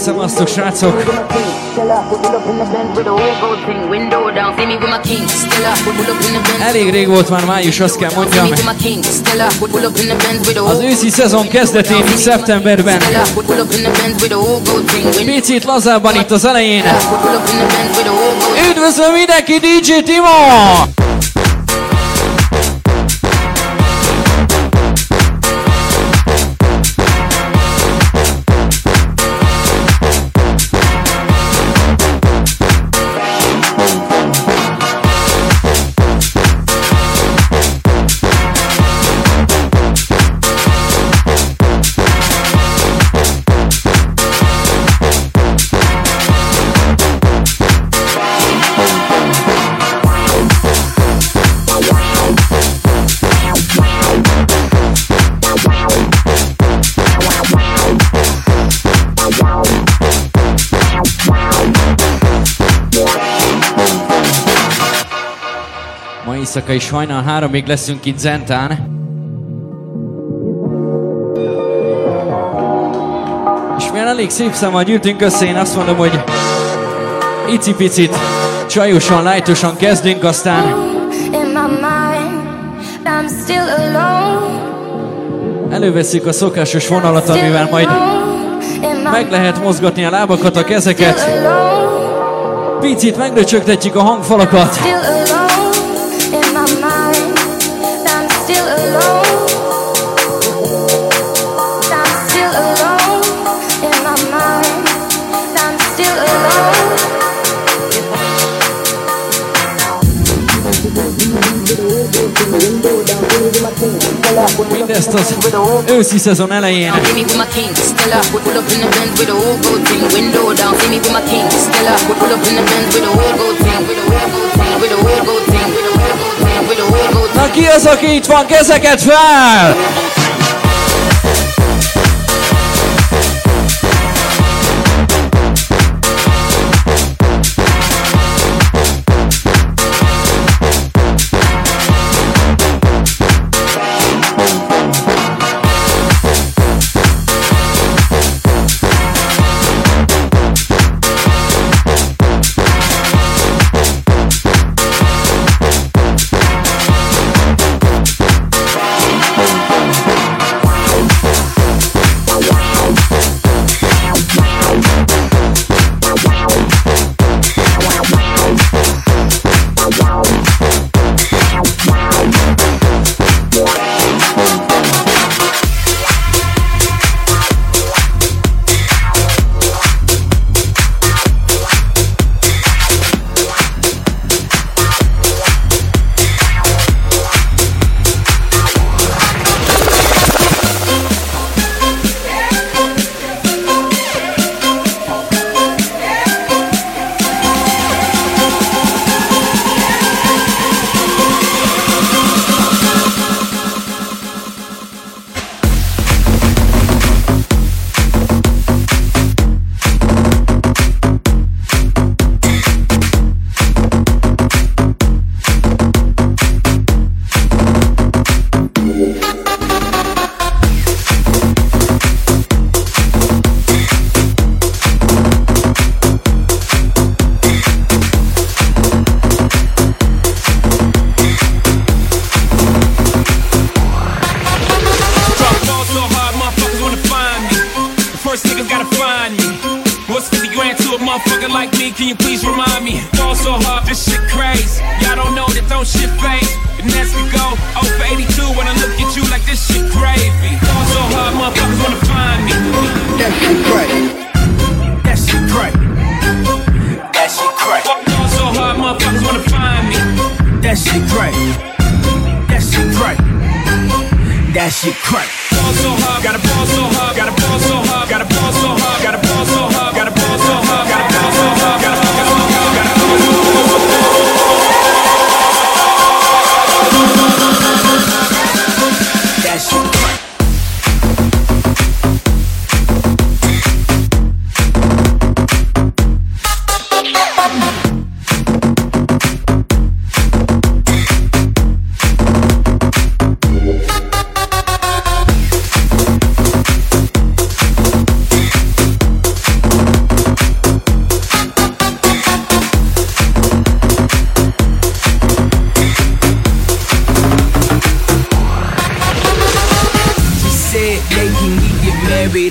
Szevasztok, srácok! Elég rég volt már május, azt kell mondjam. Az őszi szezon kezdetén, szeptemberben. Picit lazábban itt az elején. Üdvözlöm mindenki, DJ Timo! Éjszaka is hajnal 3-ig leszünk itt Zentán. És milyen elég szép számmal gyűltünk össze, én azt mondom, hogy icipicit, csajosan, lájtosan kezdünk, aztán elővesszük a szokásos vonalat, amivel majd meg lehet mozgatni a lábakat, a kezeket. Picit megröcsögtetjük a hangfalakat. Mindezt az őszi szezon elején. Na ki az, aki itt van? Kezeket fel!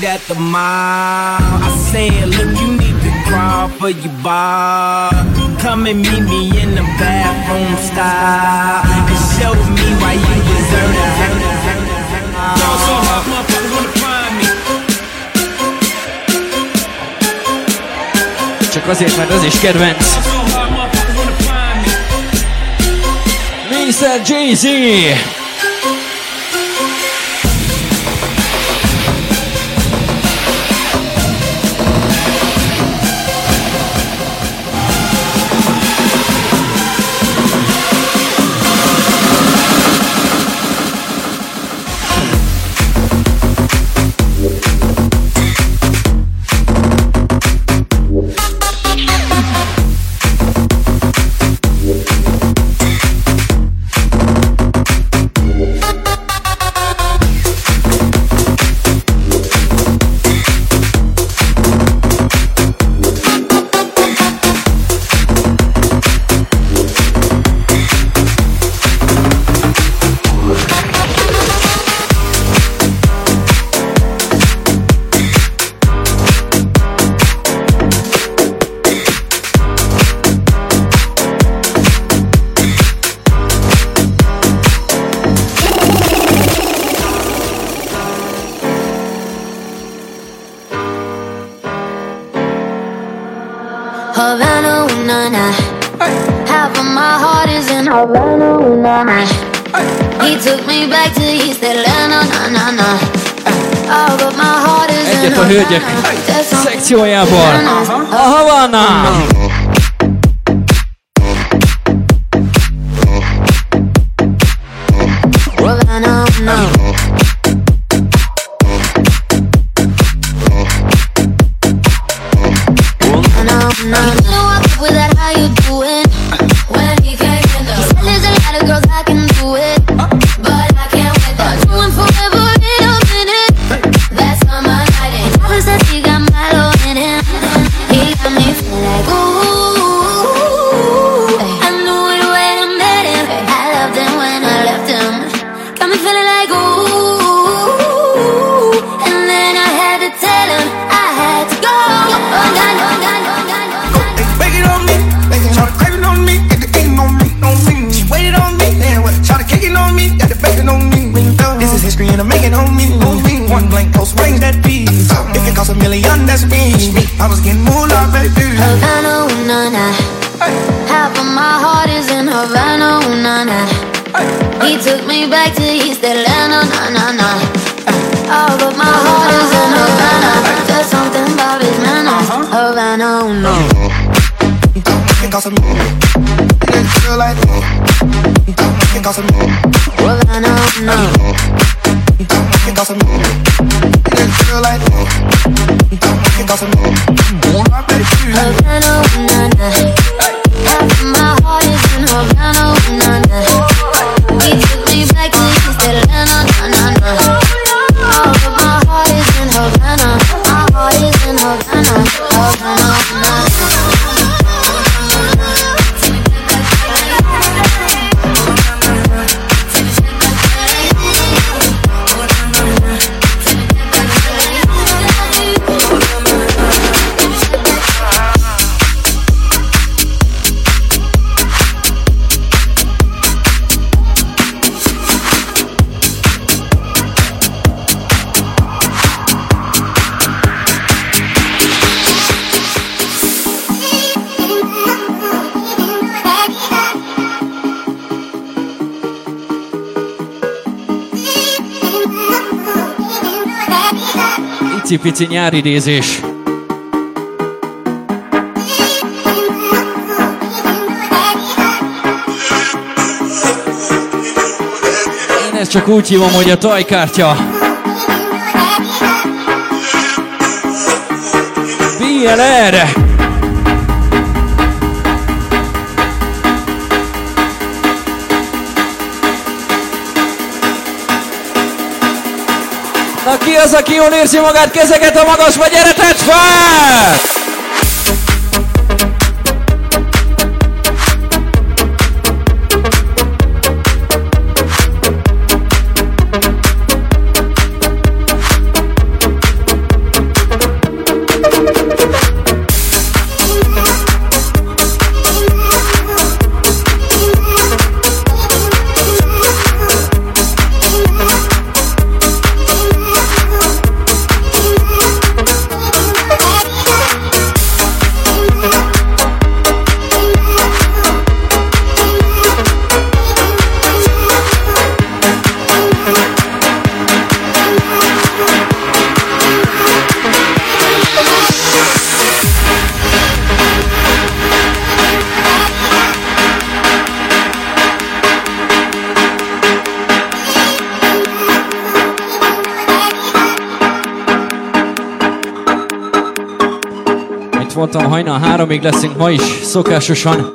at the mall. I said, look, you need to crawl for your bar. Come and meet me in the bathroom style and show me why you deserve it. So hard, motherfuckers wanna find me. Csak azért, mert az is kedvenc. Mr. Jay-Z. Havana, ooh, na, na. Half of my heart is in Havana, ooh, na, na. He took me back to East Atlanta, na, na, na. All of my heart is in Egyet a hölgyek szekciójából. A Havana! Havana, no. I was getting moolah, baby. Havana, ooh, na, na. Half of my heart is in Havana, ooh, na, na. He took me back to East Atlanta, na, na, na. All of my heart is in Havana. There's something about his manners. Havana, ooh, no. Havana, ooh, no. Havana, ooh, na, na. Half of my heart is in Havana, ooh, na, na. He took me back to East Atlanta, na, na, na. All of my heart is in Havana. My heart is in Havana, Havana, ooh, na, na. Icipici nyári idézés. Én ezt csak úgy hívom, hogy a tajkártya. BLR! Na ki az, aki jól érzi magát, kezeket a magasba, gyere, tedd fel! mondtam, hajnal 3-ig leszünk ma is, szokásosan.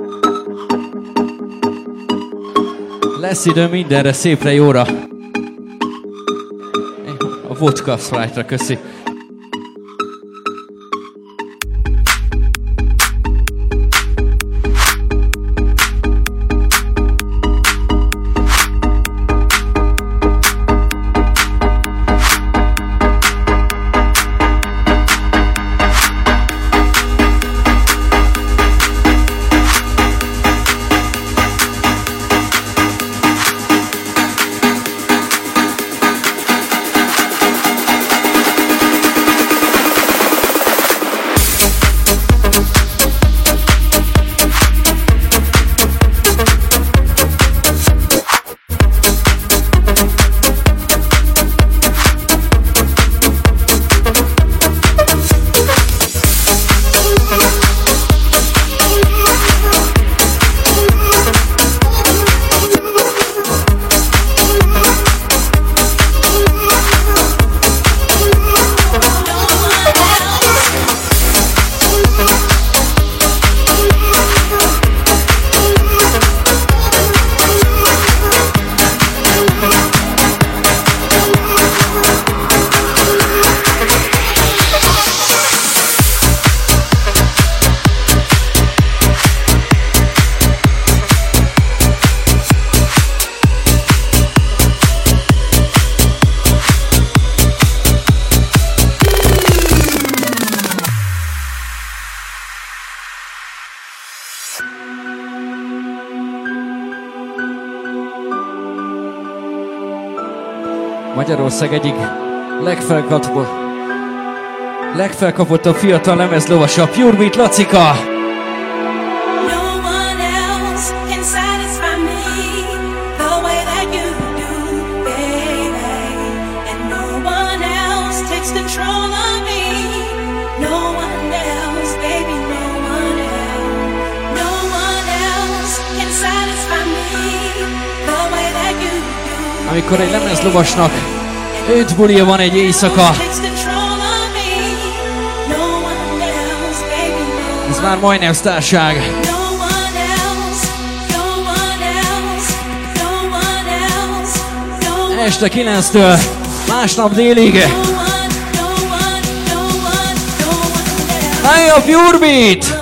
Lesz idő mindenre, szépre, jóra. A vodka Sprite-ra, köszi. Magyarország egyik legfelkapottabb fiatal lemezlovasa, Pure Beat Lacika. Amikor egy lemezlovasnak 5 bulia van egy éjszaka, ez már majdnem sztárság. Este 9-től másnap délig. Hey, a Pure Beat!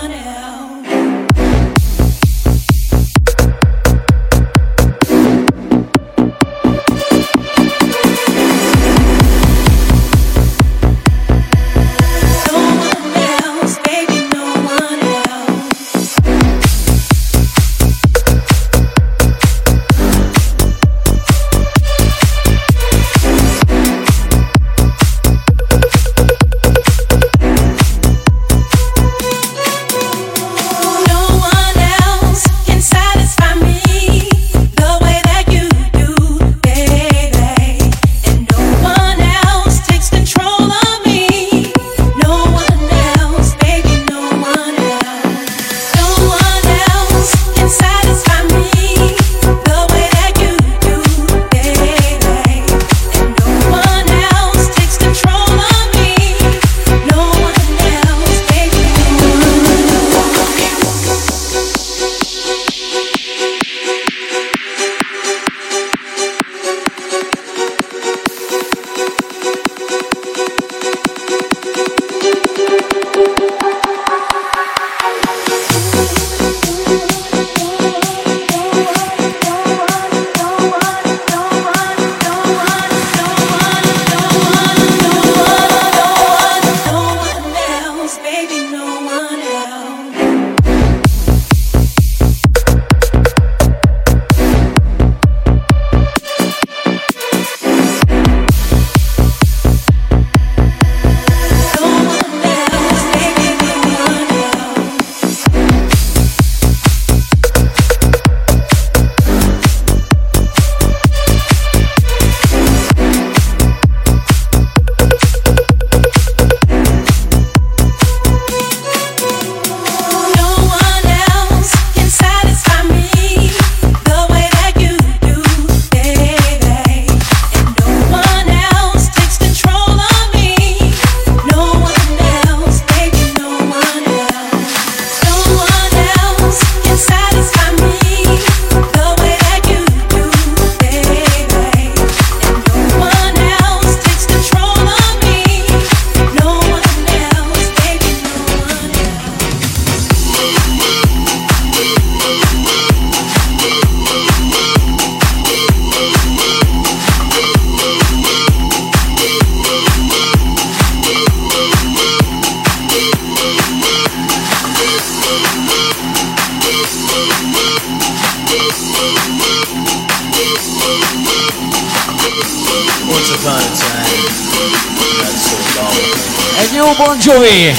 Egy jó Bon Jovi!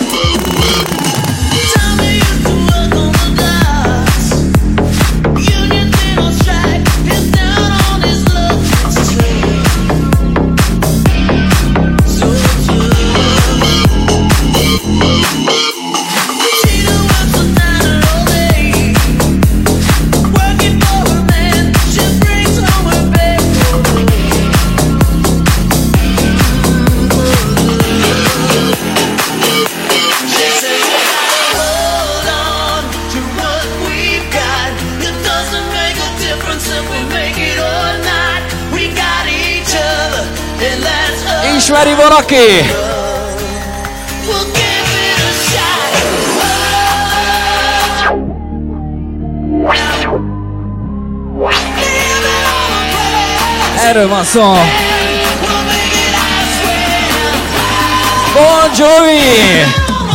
Ismeri valaki? Erről van szó. Bon Jovi!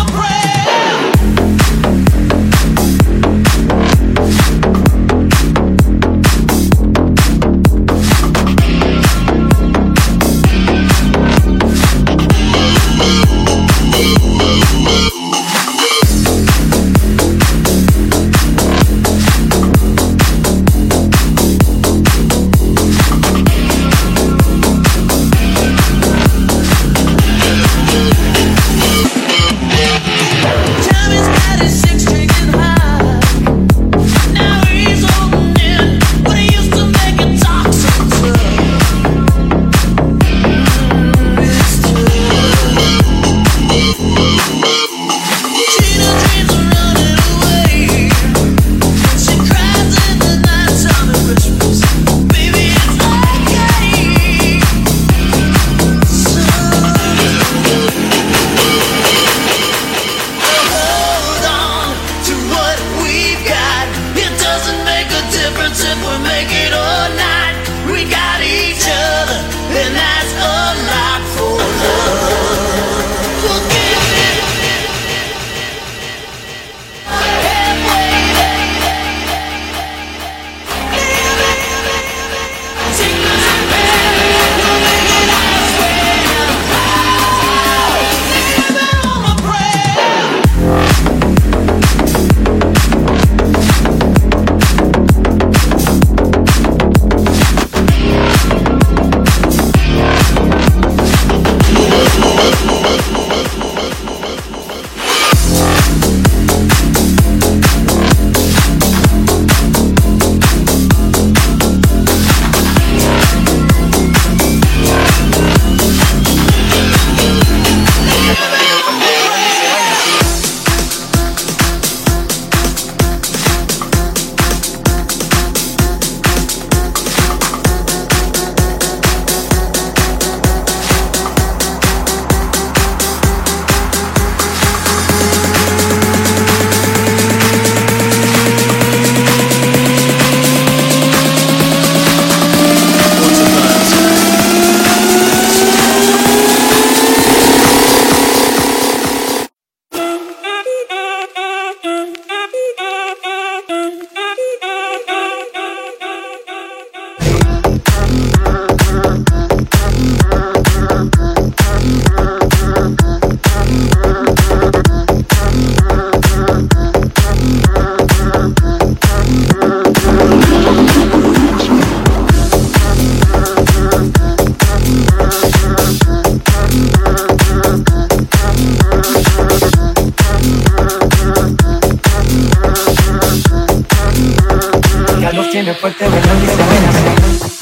fuerte, bailando y se baila así.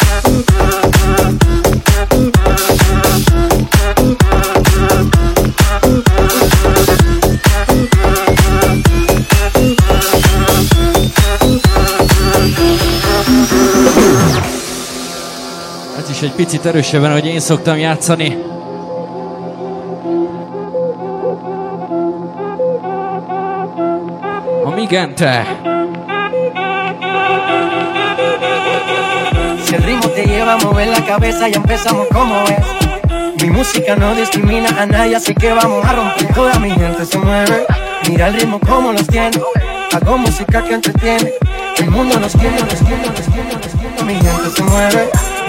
Ez is egy picit erősebben, hogy én szoktam játszani. A Migente. Si el ritmo te lleva a mover la cabeza, ya empezamos como es. Mi música no discrimina a nadie, así que vamos a romper. Toda mi gente se mueve, mira el ritmo como los tiene. Hago música que entretiene, el mundo nos quiere, nos quiere, nos quiere, nos quiere. Mi gente se mueve,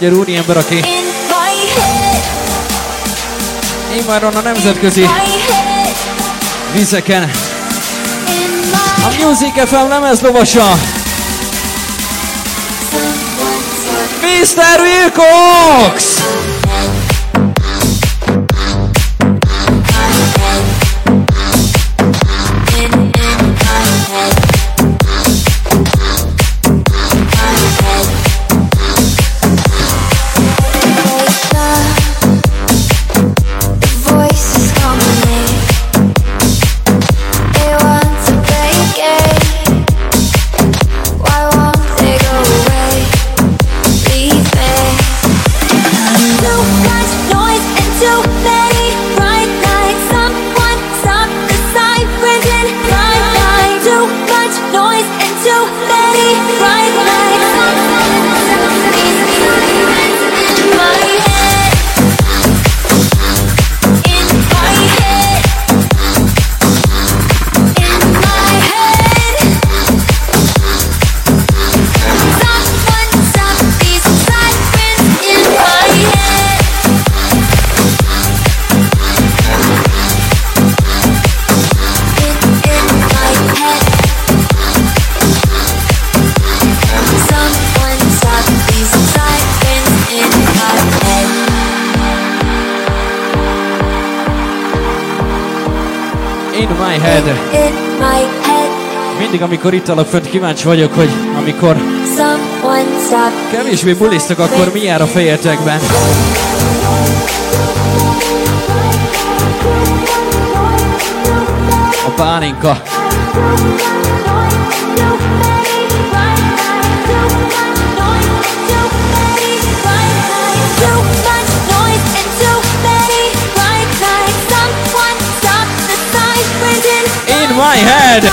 magyar úriember, aki immáron a nemzetközi vizeken a Music FM lemezlovasa Mr. Wilcox! Mindig, amikor itt alak fönt, kíváncsi vagyok, hogy amikor kevésbé bulisztok, akkor mi jár a fejetekben. A pálinka. In my head.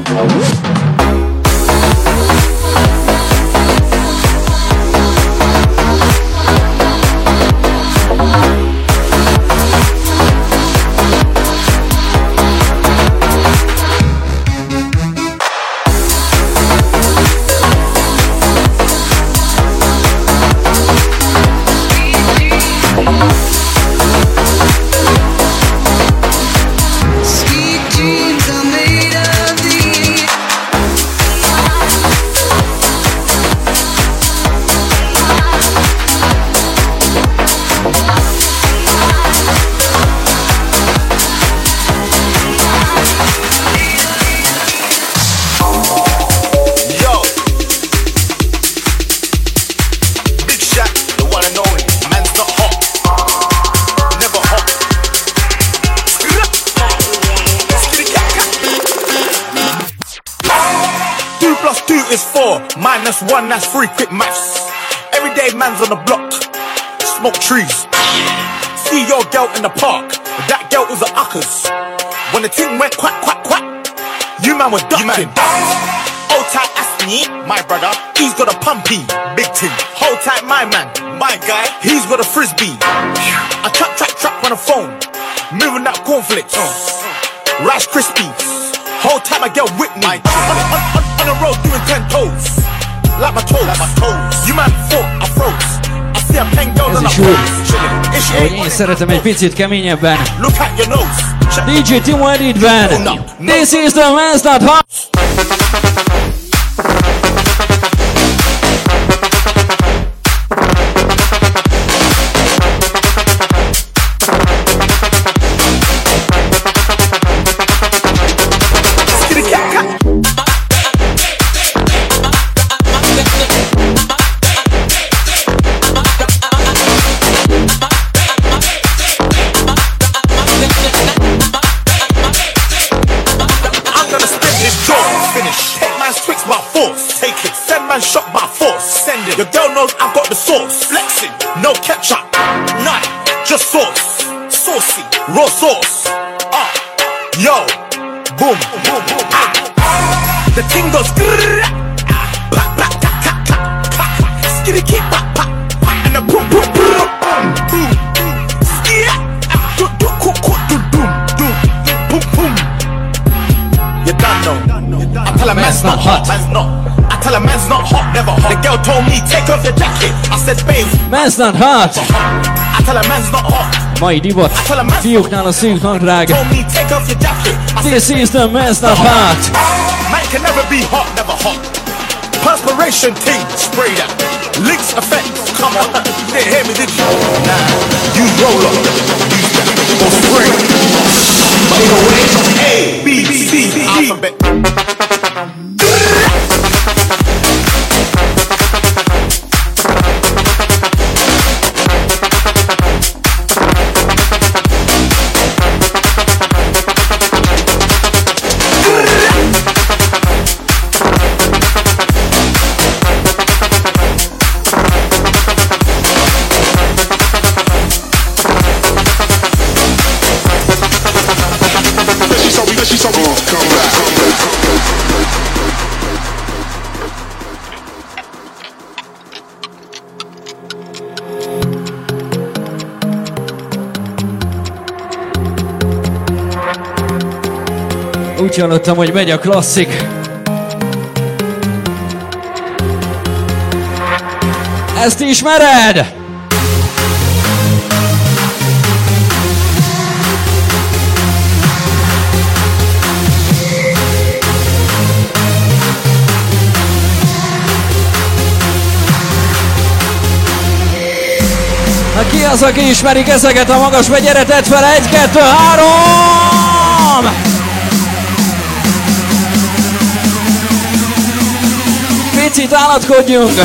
One, that's 3, quick maths. Everyday man's on the block, smoke trees. See your girl in the park, but that girl was a uckers. When the thing went quack, quack, quack, you man were ducking. Old tight Aston, my brother, he's got a pumpy, big thing. Hold tight my man, my guy, he's got a frisbee. I trap on the phone, moving that cornflakes, Rice Krispies. Whole time I get with me, on the road doing 10 toes. Like my toes, you man thought I froze. I see a pen girl on the Én szeretem egy picit keményebben. Look at your nose. DJ Timo Editben. This is the Man's Not Hot. Shot by force, send it. Your girl knows I've got the sauce. Flexing, no ketchup, none, just sauce. Saucy, raw sauce. Yo, boom, boom, boom. The ting goes skitty keep and the boom, boom, boom, boom. You done know. I tell a man's not hot, man's not. Tell a man's not hot, never hot. The girl told me take off your jacket. I said babe, man's not hot. I tell a man's not hot. Mai divat, fiúknál a szűk hangdrág. Told me take off your jacket. This is the Man's Not Hot. Man can never be hot, never hot. Perspiration team, spray that. Links effect, come on. You didn't hear me, did you? Nah, use roller, use that, or spray. By the way, A, B, C, D, alphabet. Úgy hallottam, hogy megy a klasszik. Ezt ismered? Na ki az, aki ismeri ezeket a magasba? Gyere, tedd fel! 1, 2, 3! Picit állatkodjunk!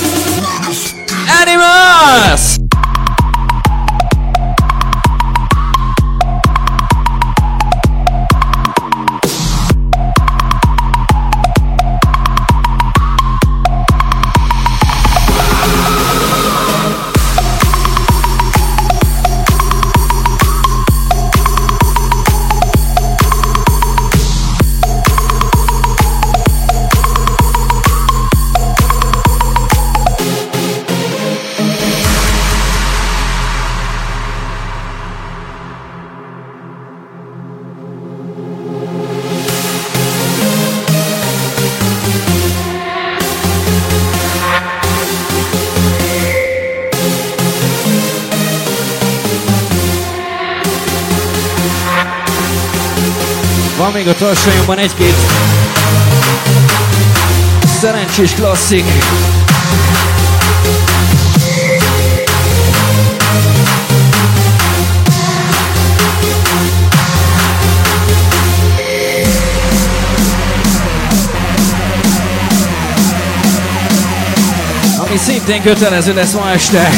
Animals! van még a tartsonyunkban egy-két szerencsés klasszik. Ami szintén kötelező lesz ma este.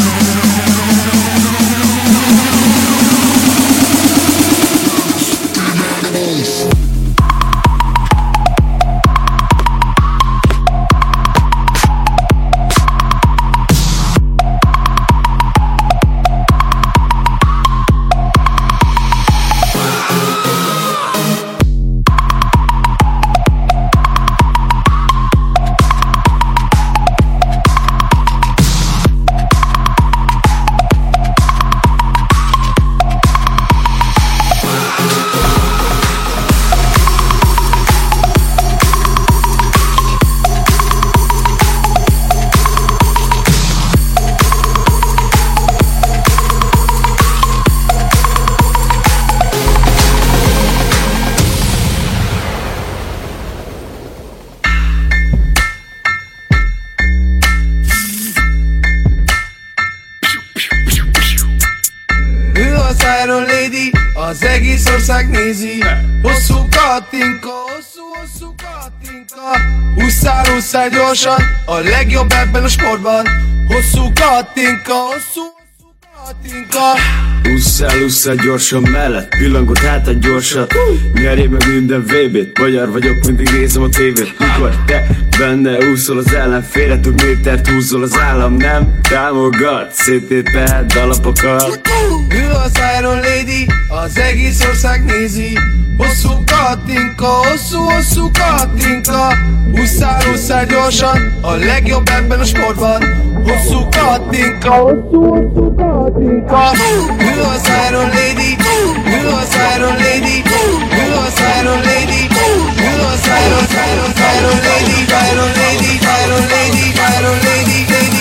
Az egész ország nézi. Hosszú katinka, hosszú katinka. Ússzál gyorsan, a legjobb ebben a sportban. Hosszú katinka, hosszú katinka. Ússzál gyorsan mellett, pillangott hát a gyorsat. Nyerjél meg minden VB-t, magyar vagyok, mindig nézem a tévét. Mikor te benne úszol az ellenfélre, több métert húzol az állam, nem támogat. Széttéped alapokat. Ő az Iron Lady, az egész ország nézi. Hosszú katinka, hosszú katinka. Ússzál gyorsan, a legjobb ebben a sportban. Hosszú katinka, hosszú katinka. Ő az Iron Lady, ő az Iron Lady, ő az Iron Lady, ő az Iron Lady, Iron Lady, Iron Lady, Iron Lady,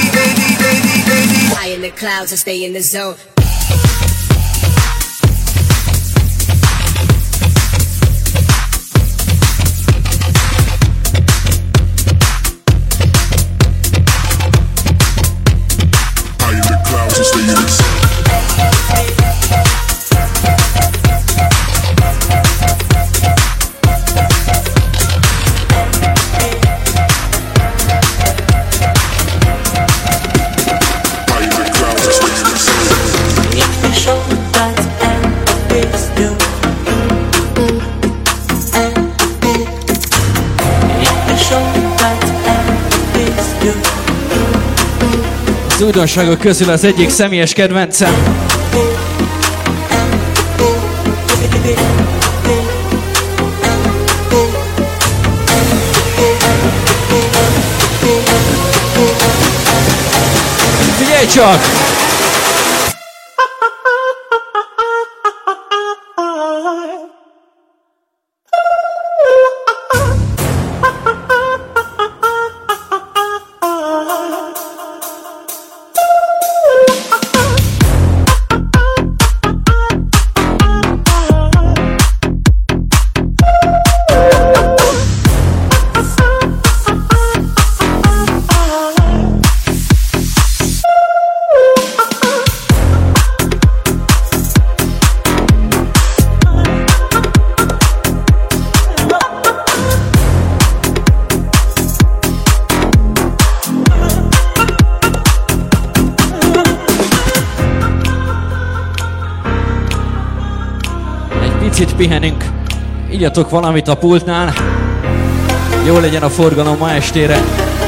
lady. Fly in the clouds and stay in the zone. Az újdonságok közül az egyik személyes kedvencem. Figyelj csak! Picit pihenünk, igyatok valamit a pultnál, jó legyen a forgalom ma estére.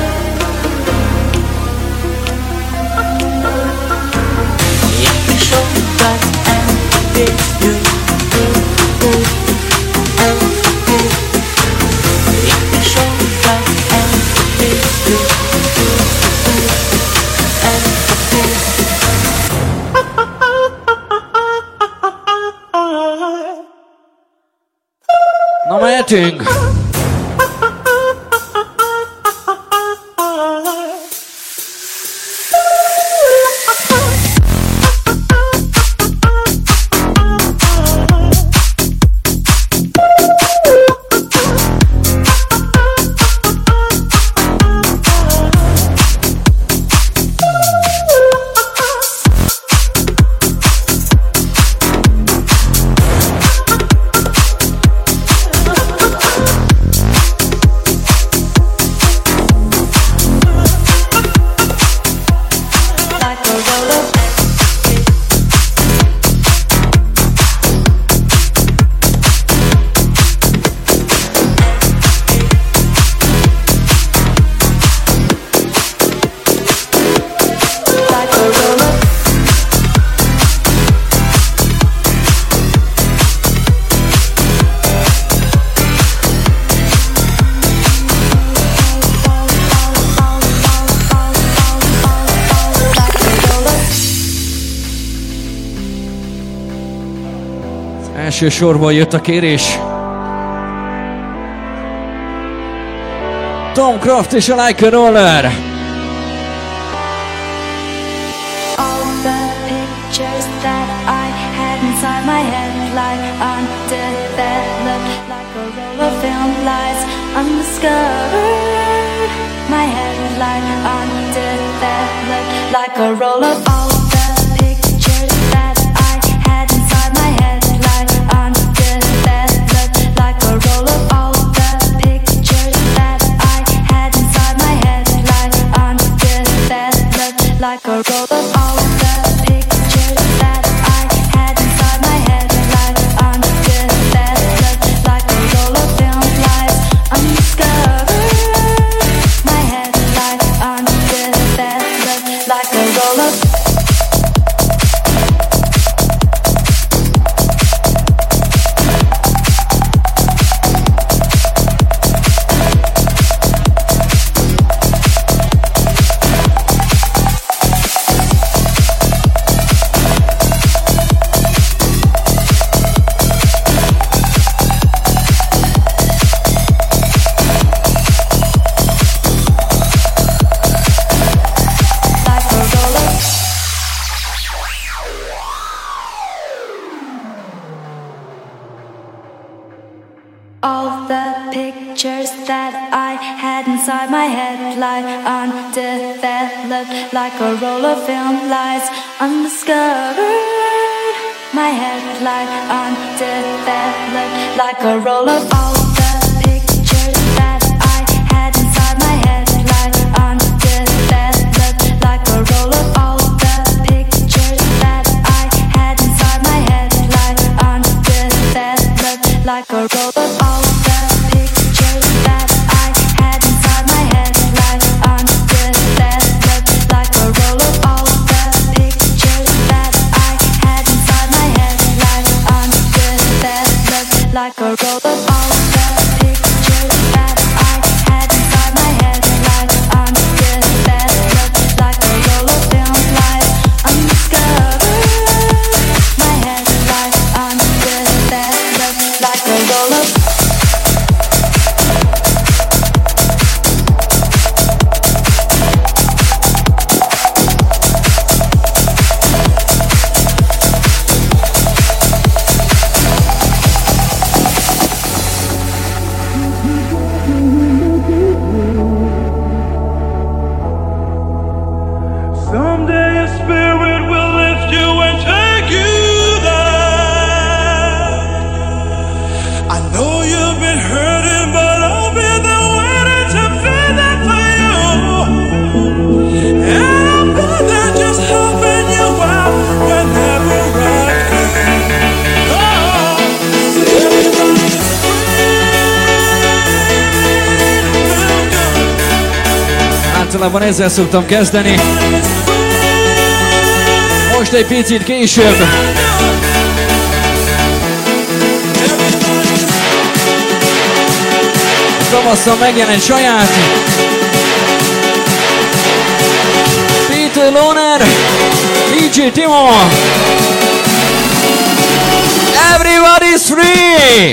Na mehetünk! Első sorból jött a kérés. Tom Craft és a Like a Roller. All the pictures that I had inside my head lie undeveloped, like a roll of film lies undiscovered. My head lie undeveloped, like a roll of all the pictures that I had inside my head lie undeveloped, like a roll of all the pictures that I had inside my head lie undeveloped, like a roll of all the pictures that I had inside my head lie undeveloped, like a roll of film lies undiscovered. My head lie undeveloped, like a roll of all the pictures that I had inside my head lie undeveloped, like a roll of film lies undiscovered. My head lie undeveloped, like a roll of all the pictures that I had inside my head lie undeveloped, like a roll of all the pictures that I had inside my head lie undeveloped, like a roll of all the pictures that I had inside my head lie undeveloped, like a roll of all the pictures that I had inside my head lie undeveloped, like a roll of all the pictures that I had inside my head lie undeveloped, like a roll of film lies undiscovered. My head lie undeveloped, like a roll of Someday a spirit will lift you and take you there. I know you've been hurting, but I'll be there waiting to be there for you. And I'll be there just helping you out whenever I can. Oh, everybody's Általában ezzel szoktam kezdeni. Most egy picit később. Tavasszal megjelent saját Peter Loner, DJ Timo. Everybody's free!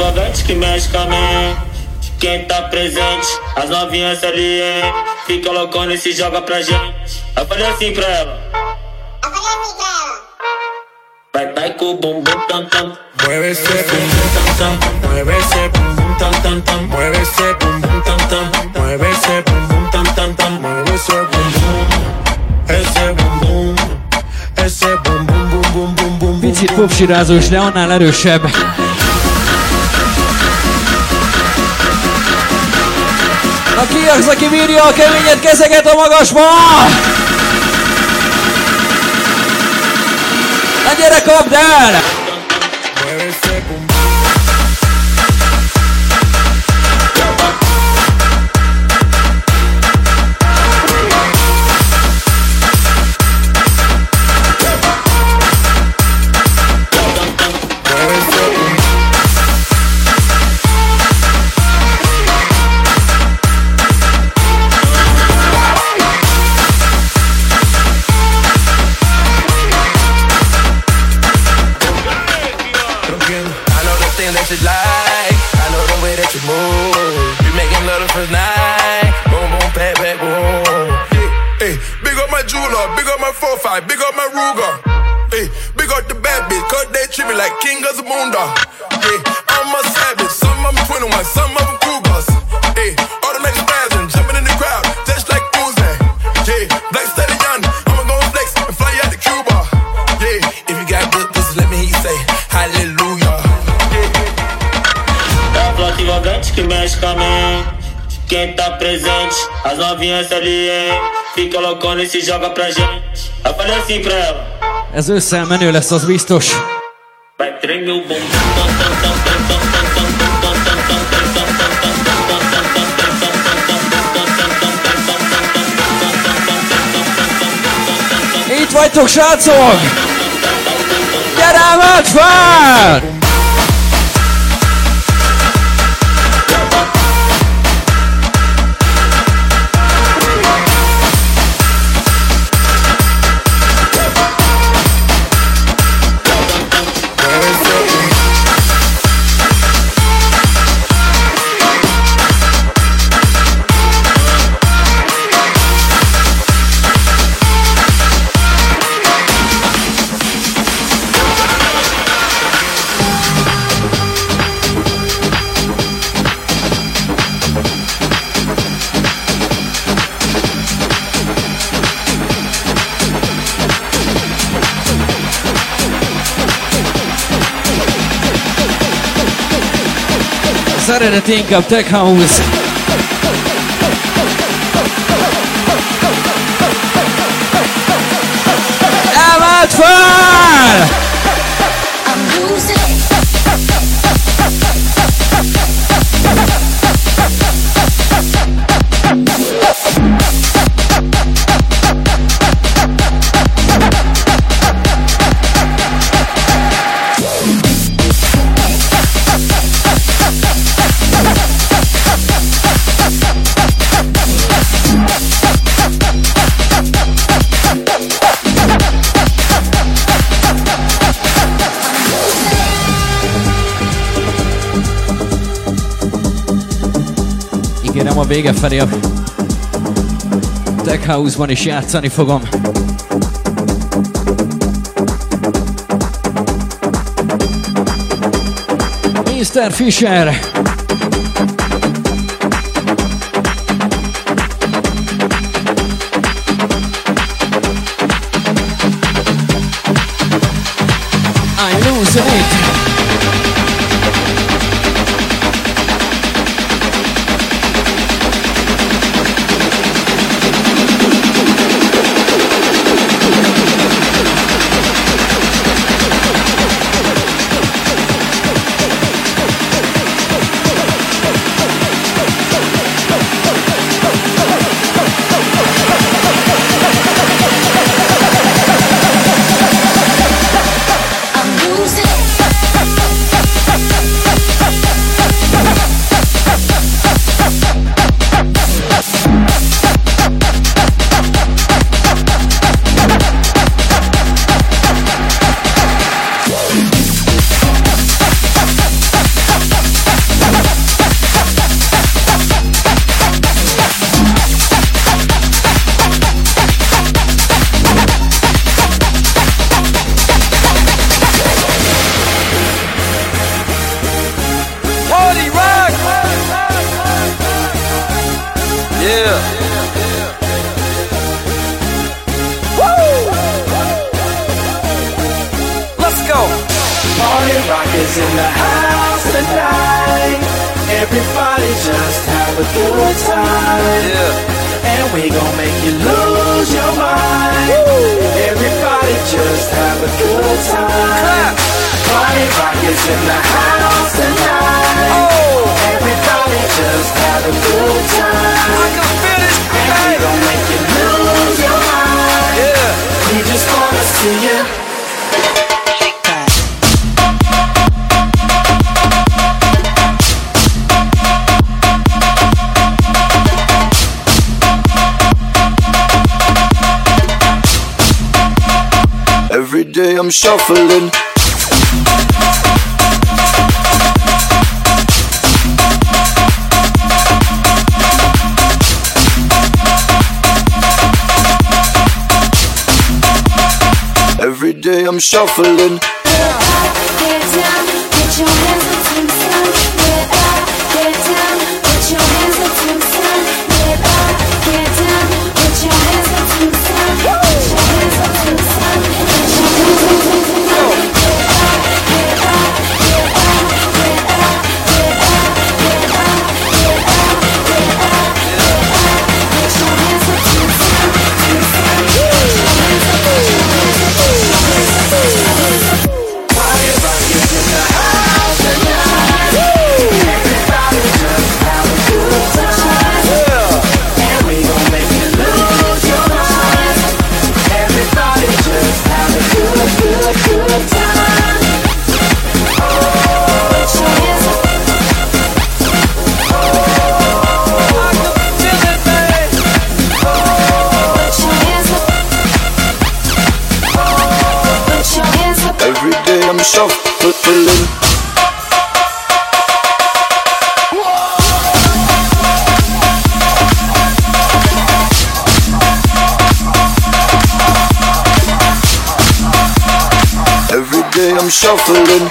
envolvente que mexe com a mente. Quem tá presente, as novinhas ali, hein? Fica loucona e se joga pra gente. Eu falei assim pra ela. Vai com o bumbum tam tam. Mueve ese bumbum tam tam. Mueve ese bumbum tam tam tam. Mueve ese bumbum tam tam. Mueve ese bumbum tam tam tam. Mueve ese bumbum. Ese bumbum. Ese bumbum bum bum bum bum. Picit popsirázós, de annál erősebb. Aki az, aki bírja a keményet, kezeket a magasba! Na gyere, kapd el! Big up my Ruger, hey, big up the bad bitch, cause they treat me like king of the moondog. Hey, I'm a savage, some of them 21, some of them Cougars. Hey, automatic spasm, jumping in the crowd, just like Uzi. Yeah, Black Stallion, I'ma go flex and fly out to Cuba. Yeah, if you got good pussy, let me hear you say hallelujah. É a flota envolvente que mexe com a mente. Quem tá presente, as novinhas ali, hein? Fica loucona e se joga pra gente. Eu falei assim pra ela. Ez ősszel menő lesz, az biztos. Vai tremer o bumbum. Itt vagytok, srácok! Gyere, vedd fel! Az eredeti inkább Tech House. Emeld fel! Ígérem, a vége felé a Tech House-ban is játszani fogom. Mr. Fisher! I'm losing it! I'm losing is in the house tonight. Everybody just have a good time. And we gon' make you lose your mind. Everybody just have a good time. Party rock is in the house tonight. Everybody just have a good time. And we gon' make you lose your mind. We just wanna see you. Every day I'm shuffling. Every day I'm shuffling. Get down, put your hands up to the sun. Get up, get down, put your hands up to the sun. Get up, get down, put your hands up to the sun. Put your hands up to the sun. Put your hands up to the sun. Get up, get up, get up, get up, get up, get up, get up, get up, get up. Put your hands up to the sun, to the sun. Put your hands up, put your hands up, put your hands up, put your hands up. Party rock is in the house tonight. Everybody just have a good time. And we gon' make you lose your mind. Everybody just have a good time. Put your hands up. I can feel it, babe. Put your hands up. Put your hands up. Every day I'm shuffling. Every day I'm shuffling.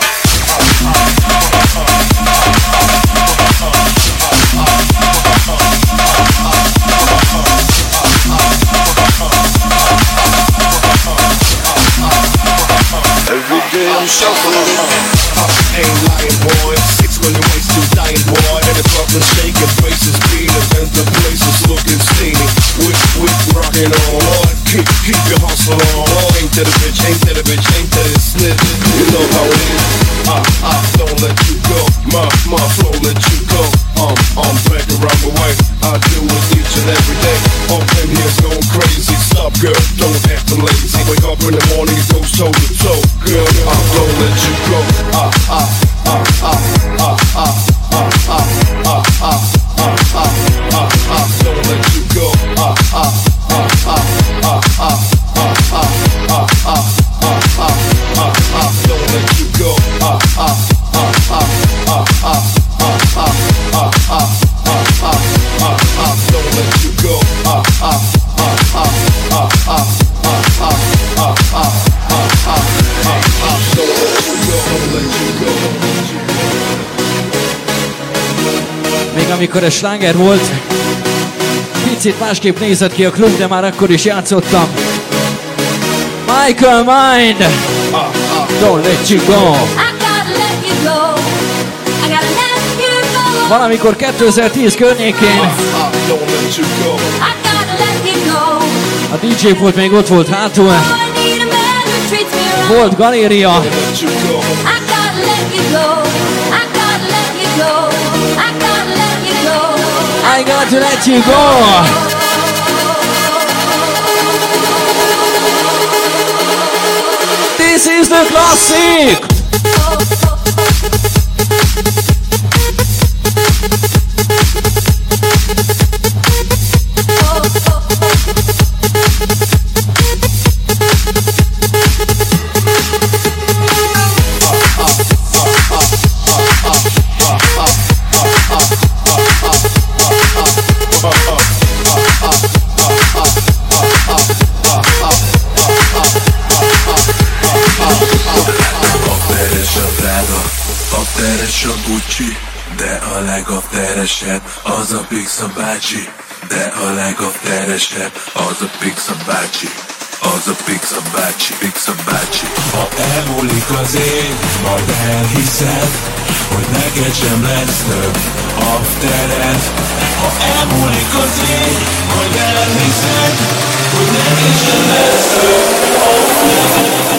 Every day I'm shuffling. Ain't lying, boy. 6 when the waist too dying, boy. And the Brooklyn shaking, faces beating, and the place is looking steamy. With rockin' on, Lord. Keep your hustle on. Ain't that a bitch? Ain't that a bitch? Ain't that a snitch? You know how it is. Don't let you go. My flow let you go. I'm back around the way. I do it each and every day. All them here's going crazy. Stop, girl. Don't act lazy. Wake up in the morning, it goes toe to toe. Girl, don't let you go. Don't let you go. Don't let you go. Don't let you go. Még amikor ez sláger volt, picit másképp nézett ki a klub, de már akkor is játszottam. Michael Mind, Don't Let You Go. Valamikor 2010 környékén a DJ volt még ott volt hátul. Volt galéria. I got to let you go. This is the classic. De a legafteresebb az a Pixa bácsi. De a legafteresebb az a Pixa bácsi. Az a Pixa bácsi, Pixa bácsi. Ha elmúlik elmúlik az év, majd elhiszed, hogy neked sem lesz több aftered. Ha elmúlik az év, majd elhiszed, hogy neked sem lesz több aftered.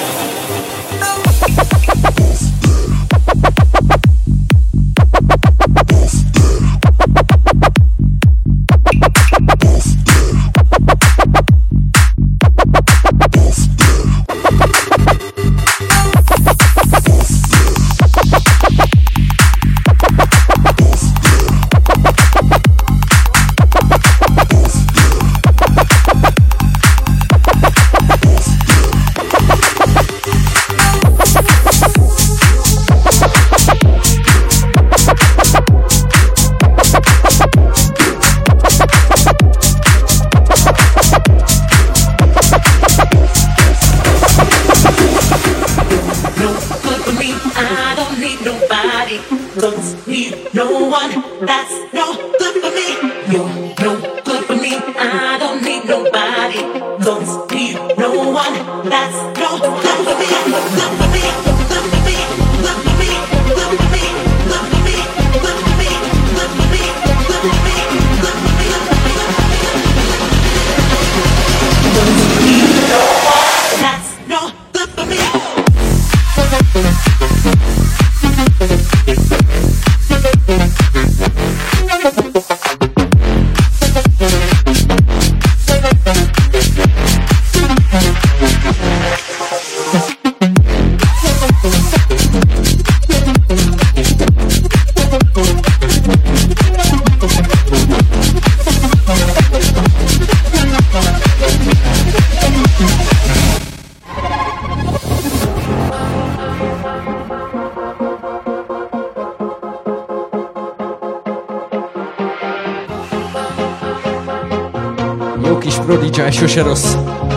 Sose rossz.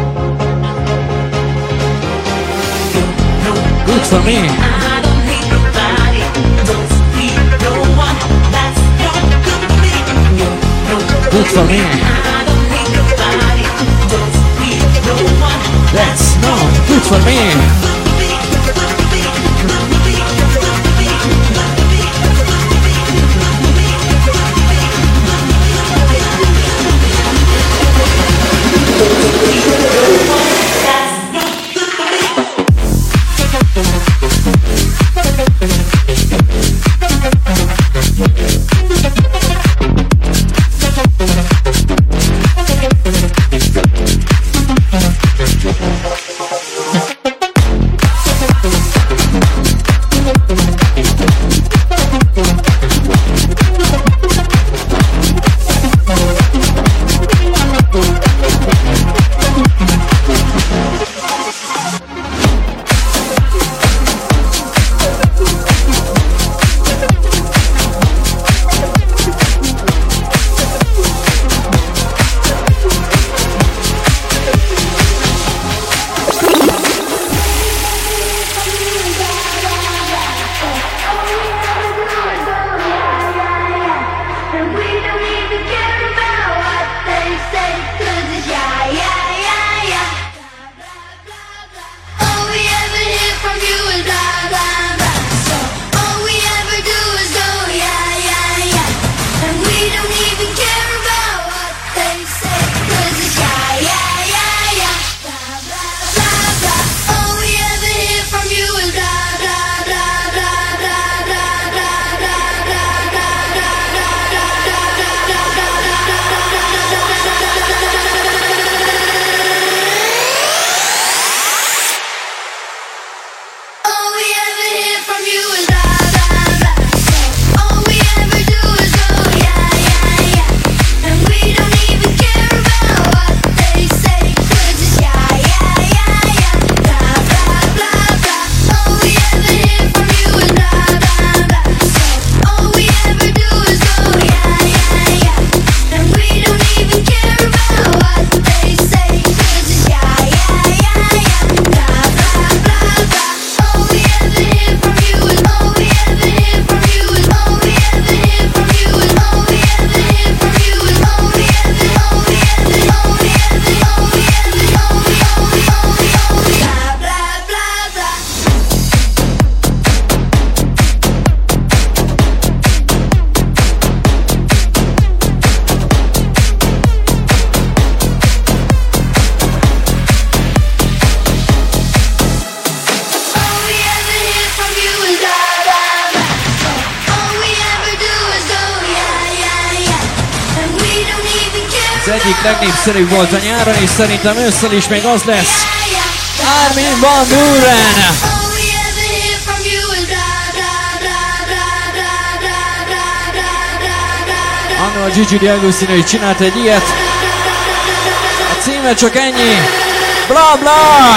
Good for me. Good for me. That's not good for me. egyik legnépszerűbb volt a nyáron, és szerintem ősszel is még az lesz. Armin van Buuren! Anno a Gigi D'Agostino is csinált egy ilyet. A címe csak ennyi. Bla bla!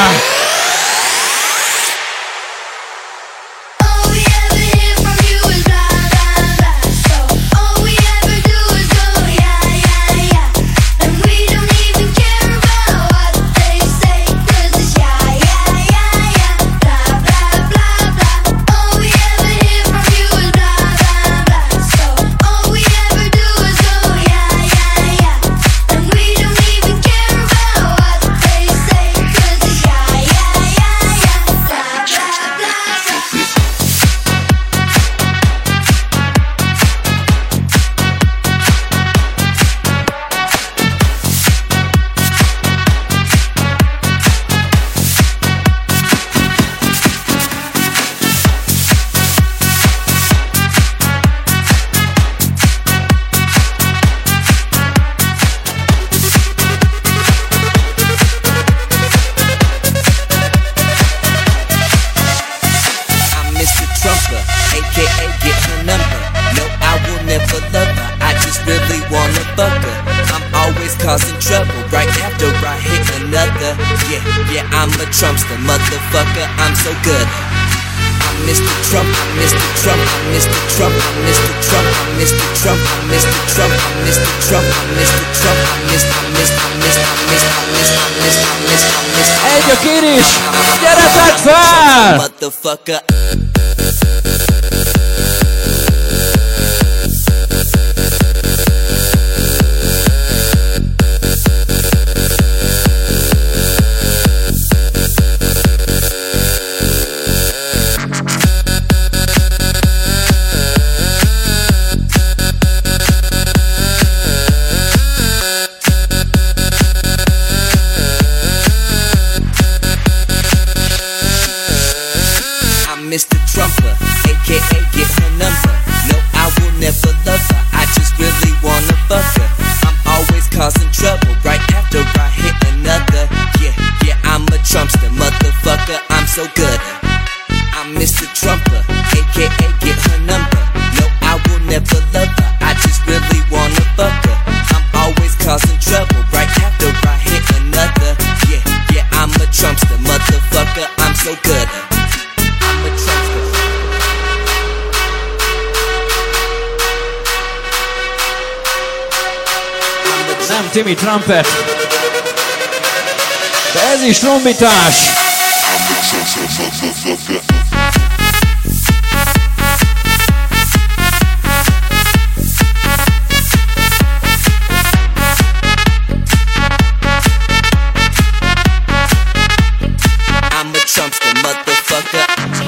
Causing trouble right after I hit another. Yeah, I'm a Trumpster, motherfucker, I'm so good. I'm Mr. Trump, I'm Mr. Trump, I'm Mr. Trump, I'm Mr. Trump, I'm Mr. Trump, I'm Mr. Trump, I'm Mr. Trump, I'm Mr. Trump, I'm Egy a kérés, gyere fel! Motherfucker. Mr. Trumper, aka get her number. No, I will never love her, I just really wanna fuck her. I'm always causing trouble right after I hit another. Yeah, I'm a Trumpster, motherfucker, I'm so good. I'm Mr. Trumper, aka get her number. No, I will never love her, I just really wanna fuck her. I'm always causing trouble right after I hit another. Yeah, I'm a Trumpster, motherfucker, I'm so good. Nem Timmy Trumpet, de ez is trombitás. I'm a Trumpster, motherfucker.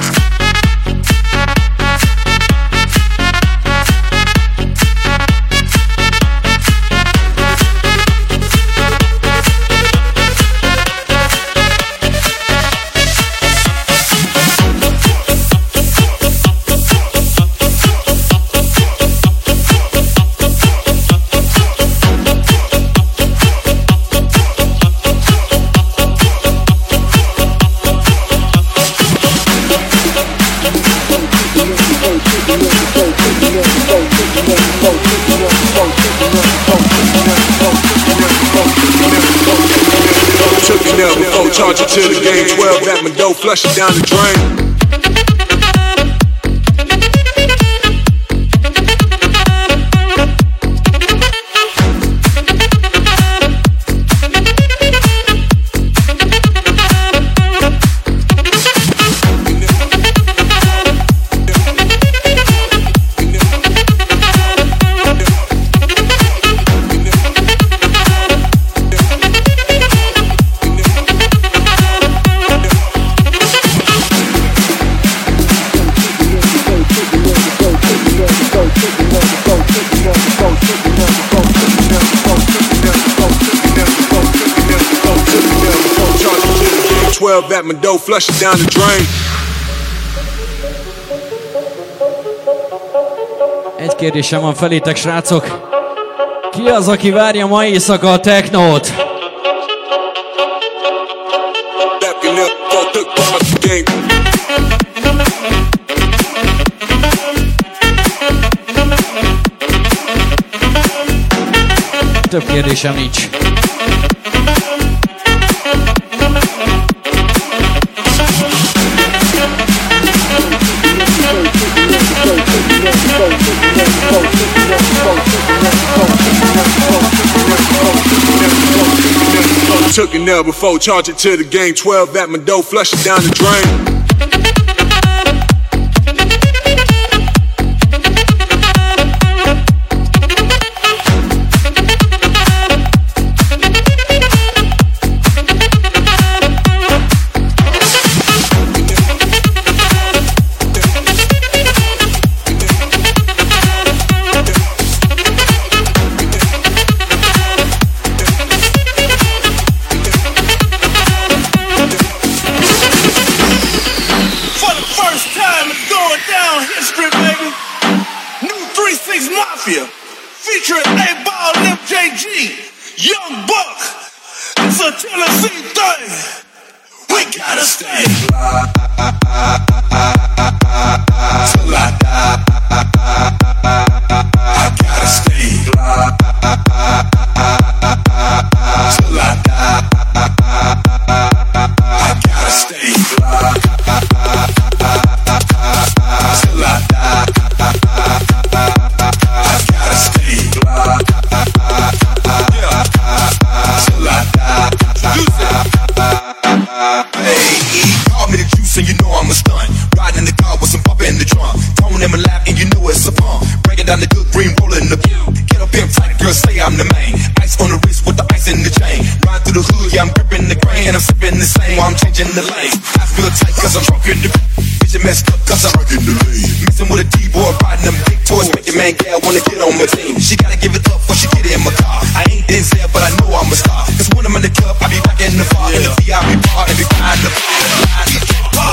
Took it up before charge it to the game 12 at my dough, flush it down the drain. At my dough, flush it down the drain. Egy kérdésem van felétek, srácok. Ki az, aki várja ma éjszaka a technót? Több kérdésem nincs. Took it now before, charge it to the game. 12 at my door, flush it down the drain. The lane. I feel tight cause I'm drunk in the vision messed up cause I'm drunk in the lane. Messing with a D-boy, riding them big toys, making man gal wanna get on my team. She gotta give it up before she get in my car. I ain't Denzel, but I know I'm a star. Cause when I'm in the club, I be back in the bar, in the VIP bar, and be behind the bar.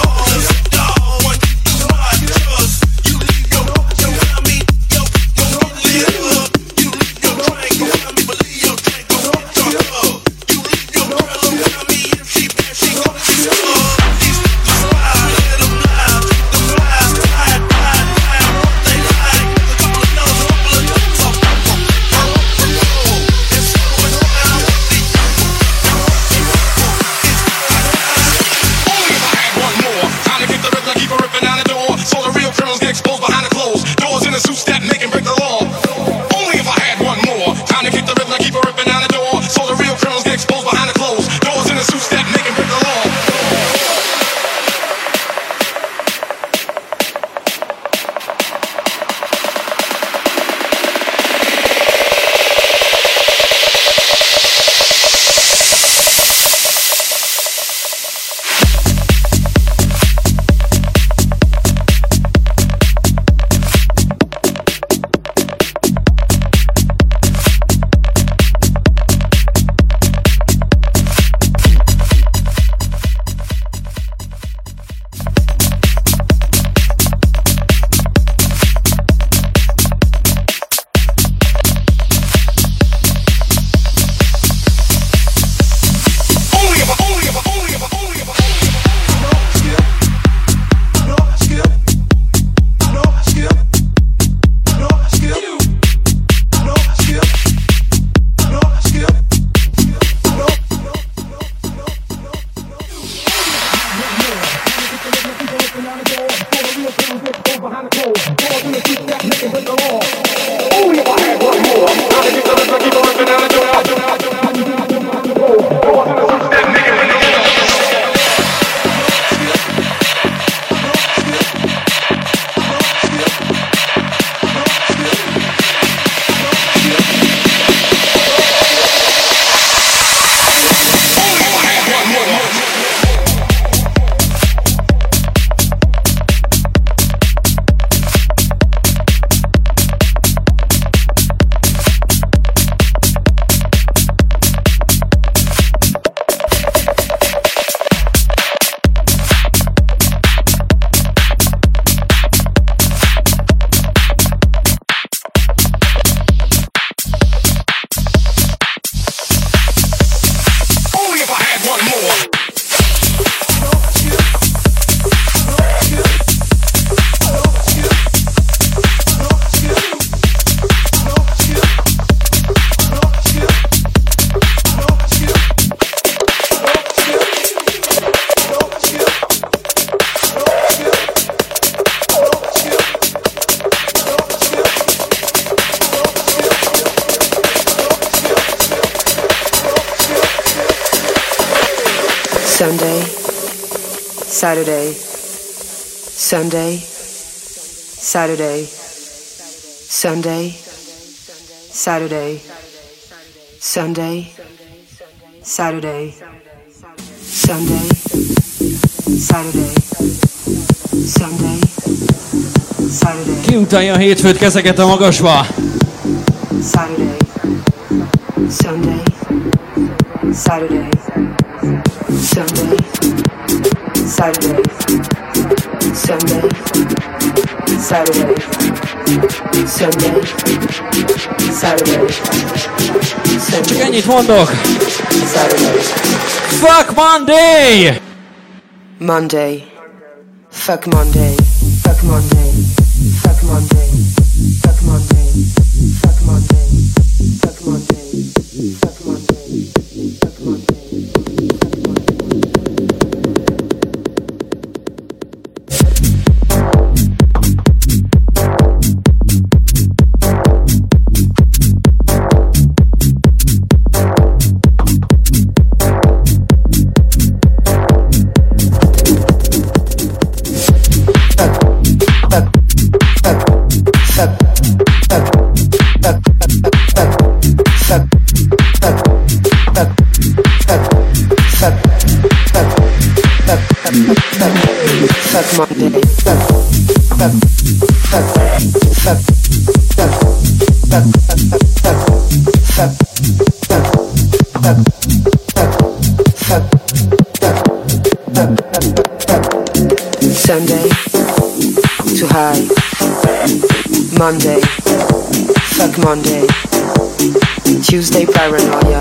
Saturday, Sunday, Saturday, Sunday, Saturday, Sunday, Saturday, Sunday, Saturday, Sunday, Saturday. Ki utálja a hétfőt, kezeket a magasba! Saturday, Sunday, Saturday, Sunday, Saturday, Sunday, Saturday, Sunday, Saturday, Sunday. Csak ennyit mondok! Saturday. Fuck Monday! Monday. Fuck Monday. Fuck Monday. Fuck Monday. Fuck Monday. Fuck Monday. Fuck Monday. Fuck Monday. Fuck Monday. Sunday, too high. Monday, fuck Monday. Tuesday, paranoia.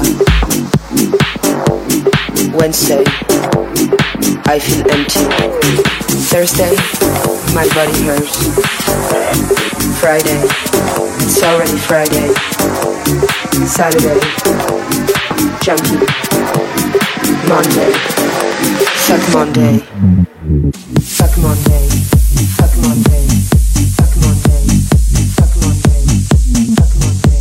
Wednesday, I feel empty. Thursday, my body hurts. Friday, it's already Friday. Saturday, junkie. Monday, fuck Monday. Fuck Monday. Fuck Monday. Fuck Monday. Fuck Monday. Fuck Monday.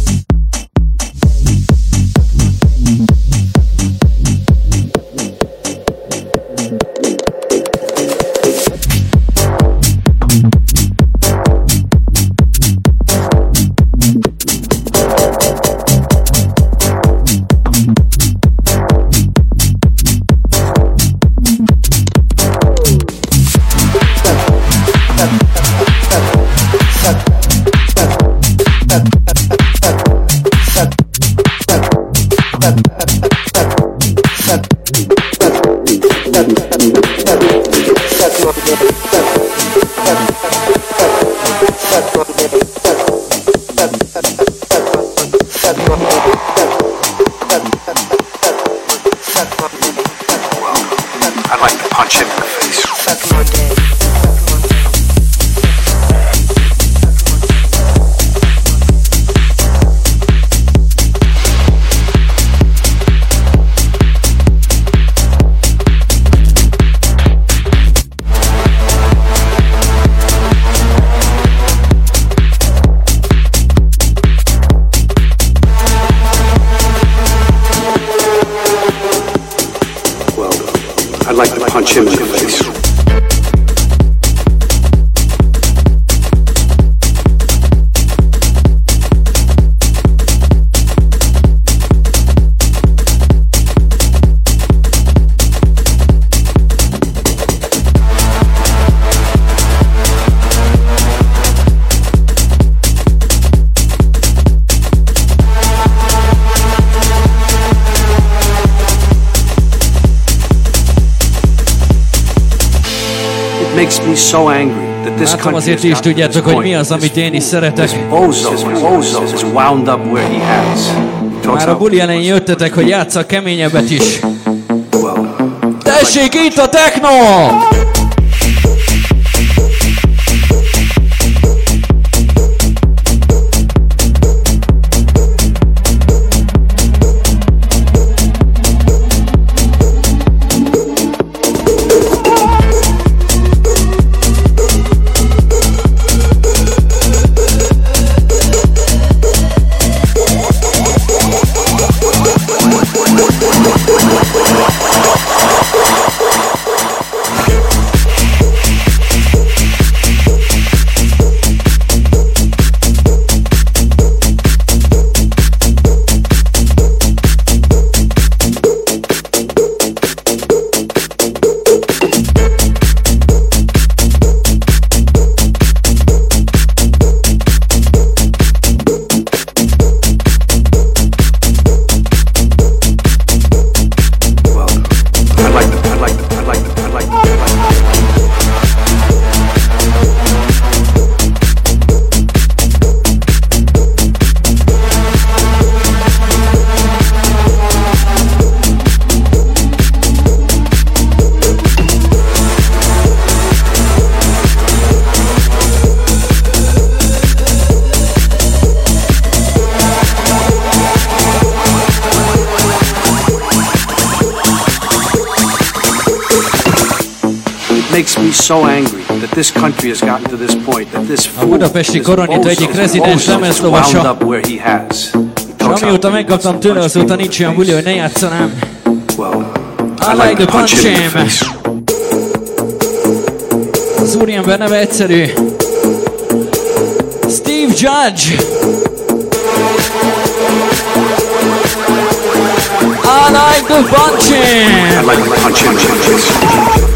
I'd like to punch him in the face. Fuck Monday. I'd like to punch him in the face. Makes me so angry that this country azért is tudjátok, hogy mi az, amit én is szeretek. Bozo is wound up where he has. Már a buli elején jöttetek, hogy játsszak keményebbet is. Tessék, itt a techno! It makes me so angry that this country has gotten to this point, that this A fool, budapesti this Koronita egyik bozo, rezidens is wound lemezlovasa. up where he has. És amióta megkaptam tőle, azóta nincs olyan buli, hogy ne játszanám. I like the punch him. Az úriember neve egyszerű. Steve Judge. I like the punch him. I like the punch him.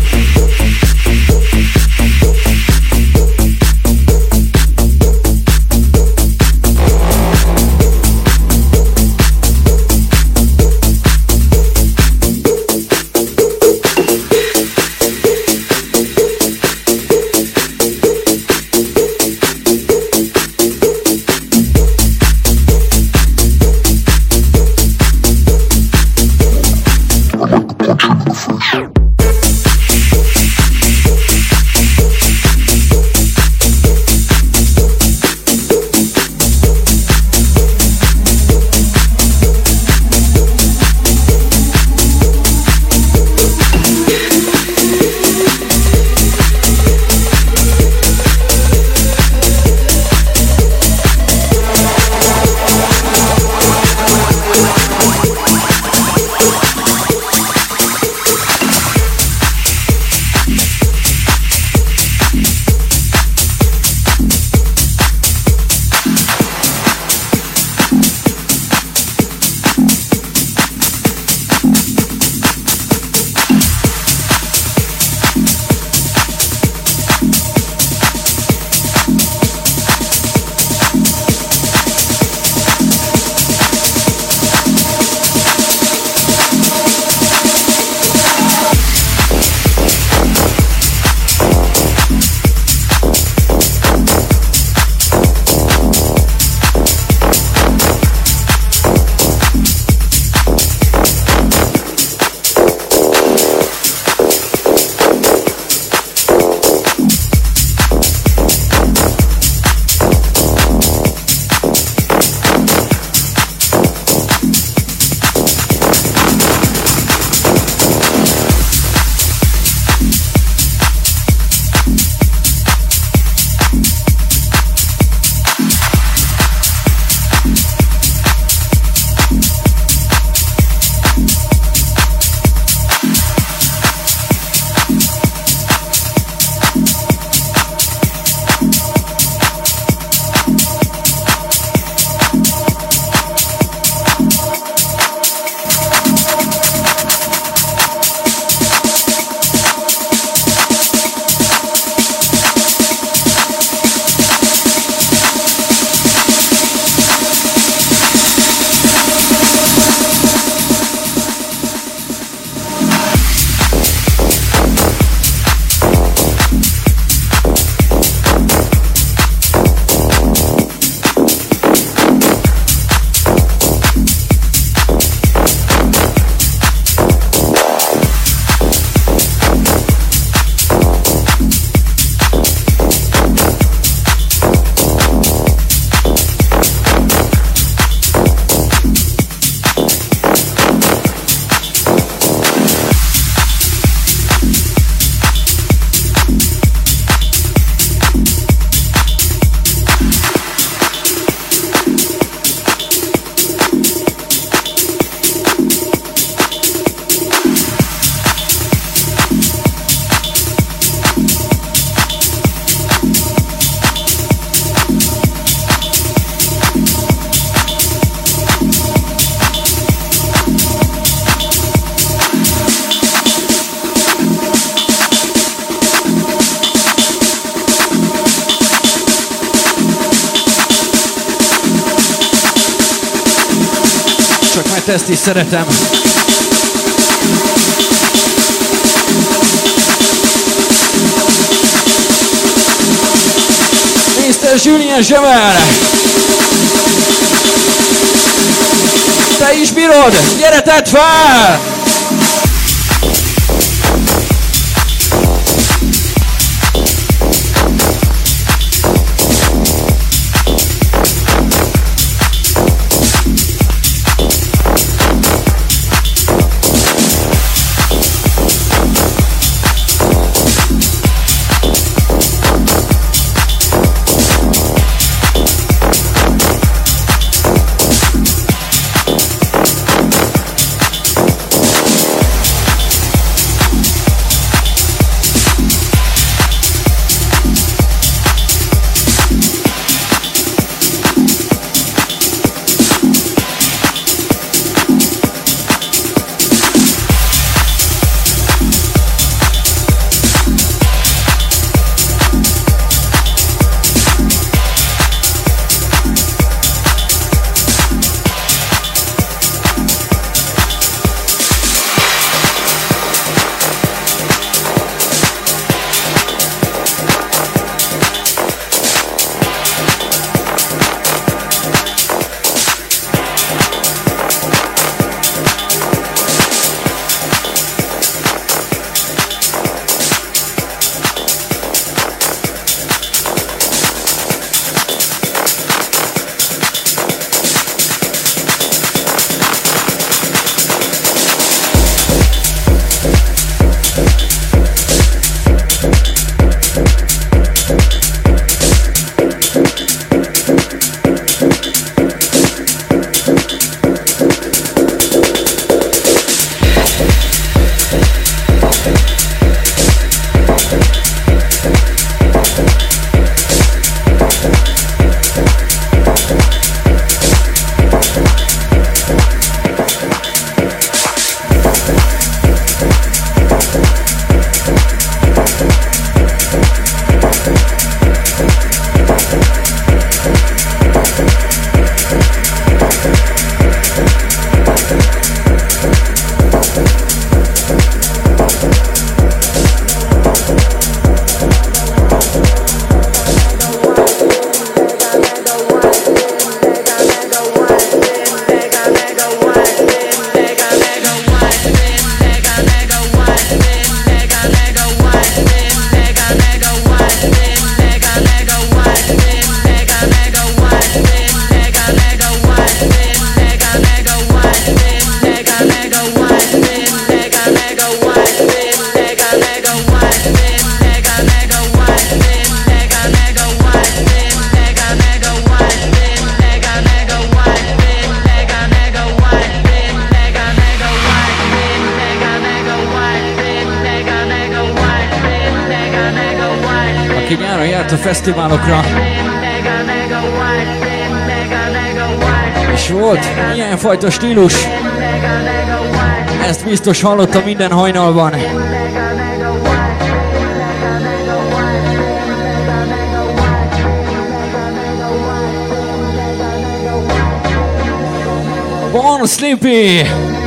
mert ezt is szeretem. Mr. Julien Javel! Te is bírod! Gyere, tedd fel! gyakran járt a fesztiválokra. És volt ilyenfajta stílus. Ezt biztos hallottam minden hajnalban. Bon Sleepy!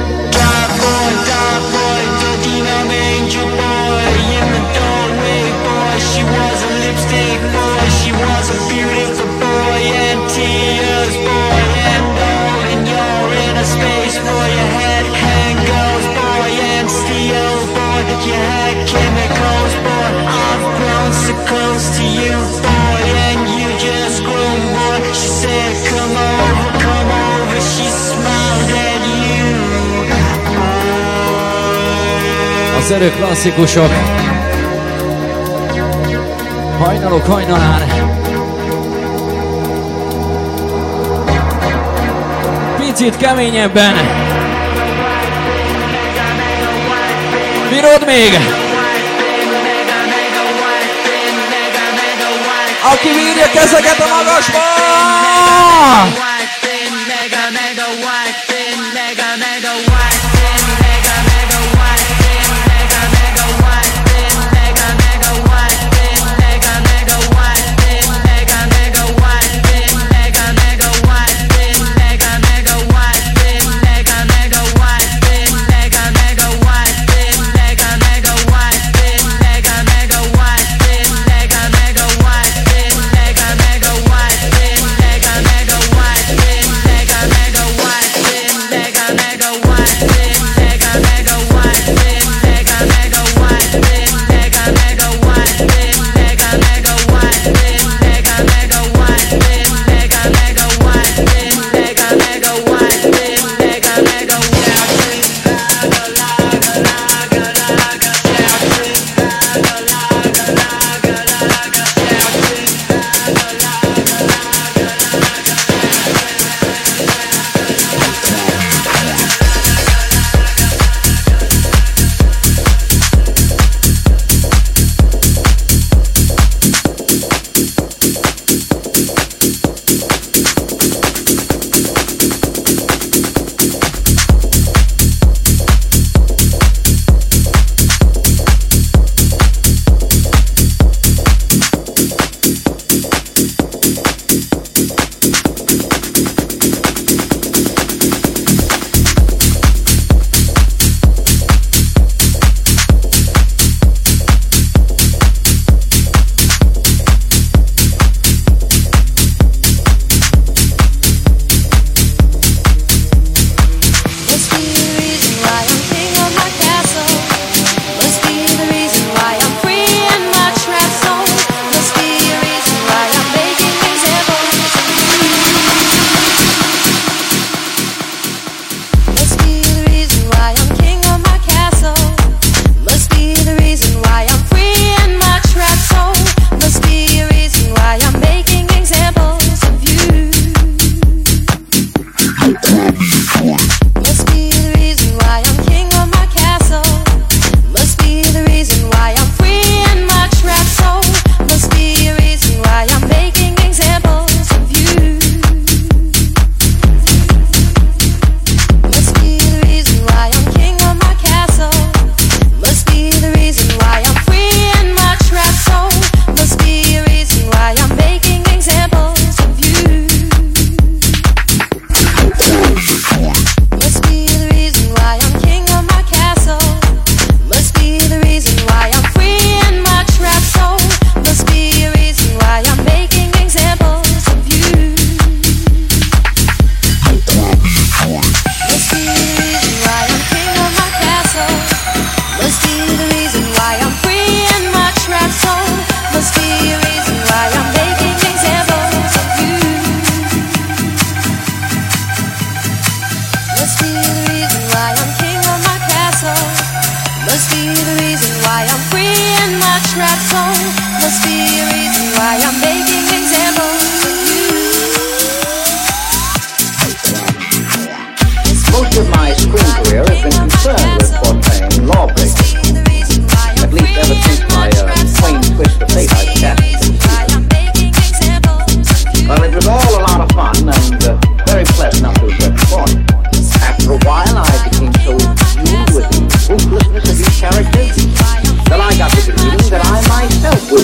Az erő klasszikusok. Hajnalok hajnalán. Picit keményebben. Bírod még? Aki bírja, kezeket a magasba!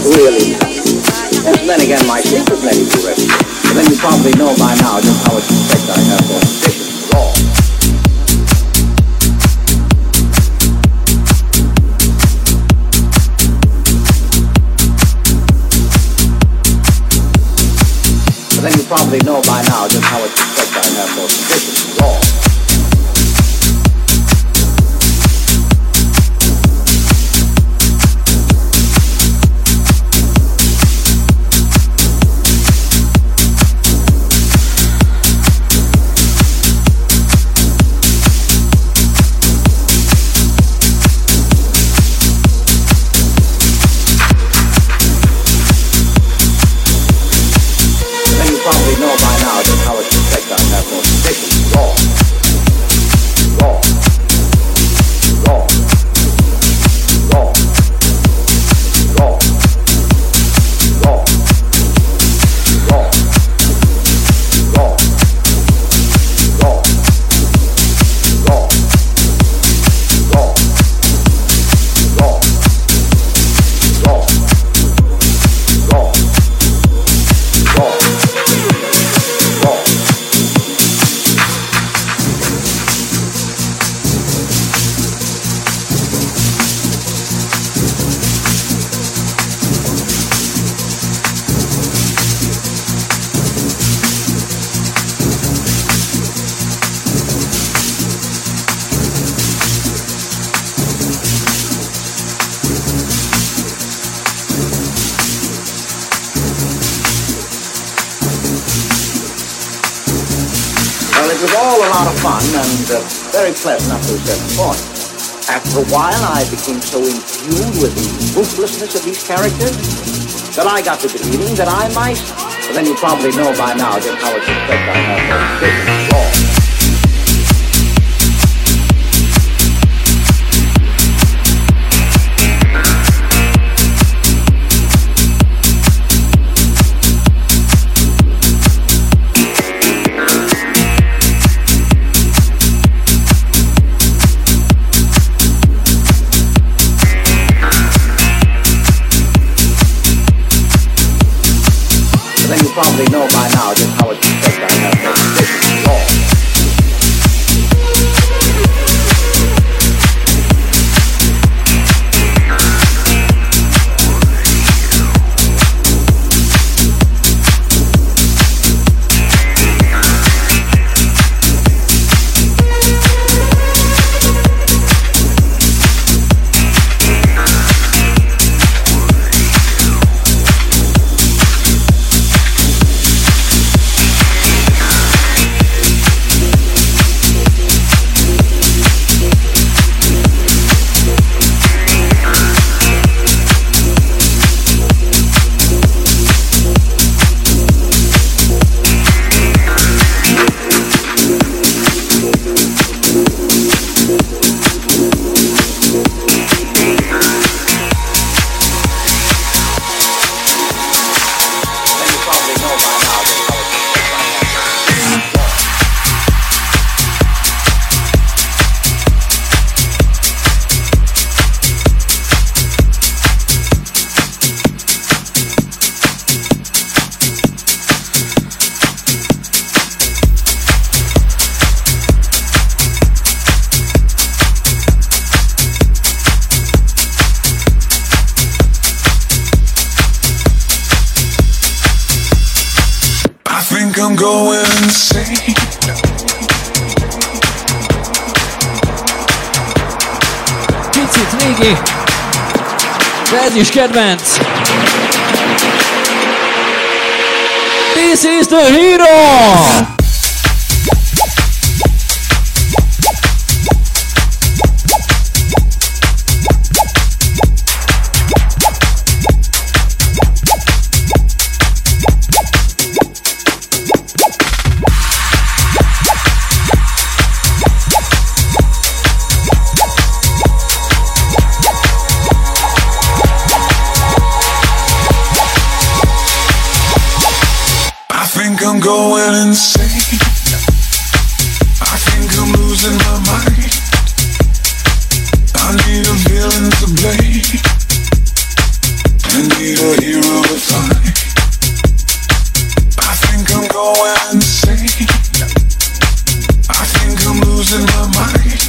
really nice. And then again, my secret may be risky. But then you probably know by now just how much respect I have for traditions at all. But then you probably know by now just how much respect I have for traditions at all. Very pleasant up to a certain point. After a while, I became so imbued with the ruthlessness of these characters that I got the feeling that I might. But then you probably know by now just how much respect I have for traditions at all. Probably know by now just how much respect I have for traditions at all. I'm going insane. Picit régi, de ez is kedvenc. This is the hero! I'm going insane. I think I'm losing my mind. I need a villain to blame. need a hero to find. I think I'm going insane. I think I'm losing my mind.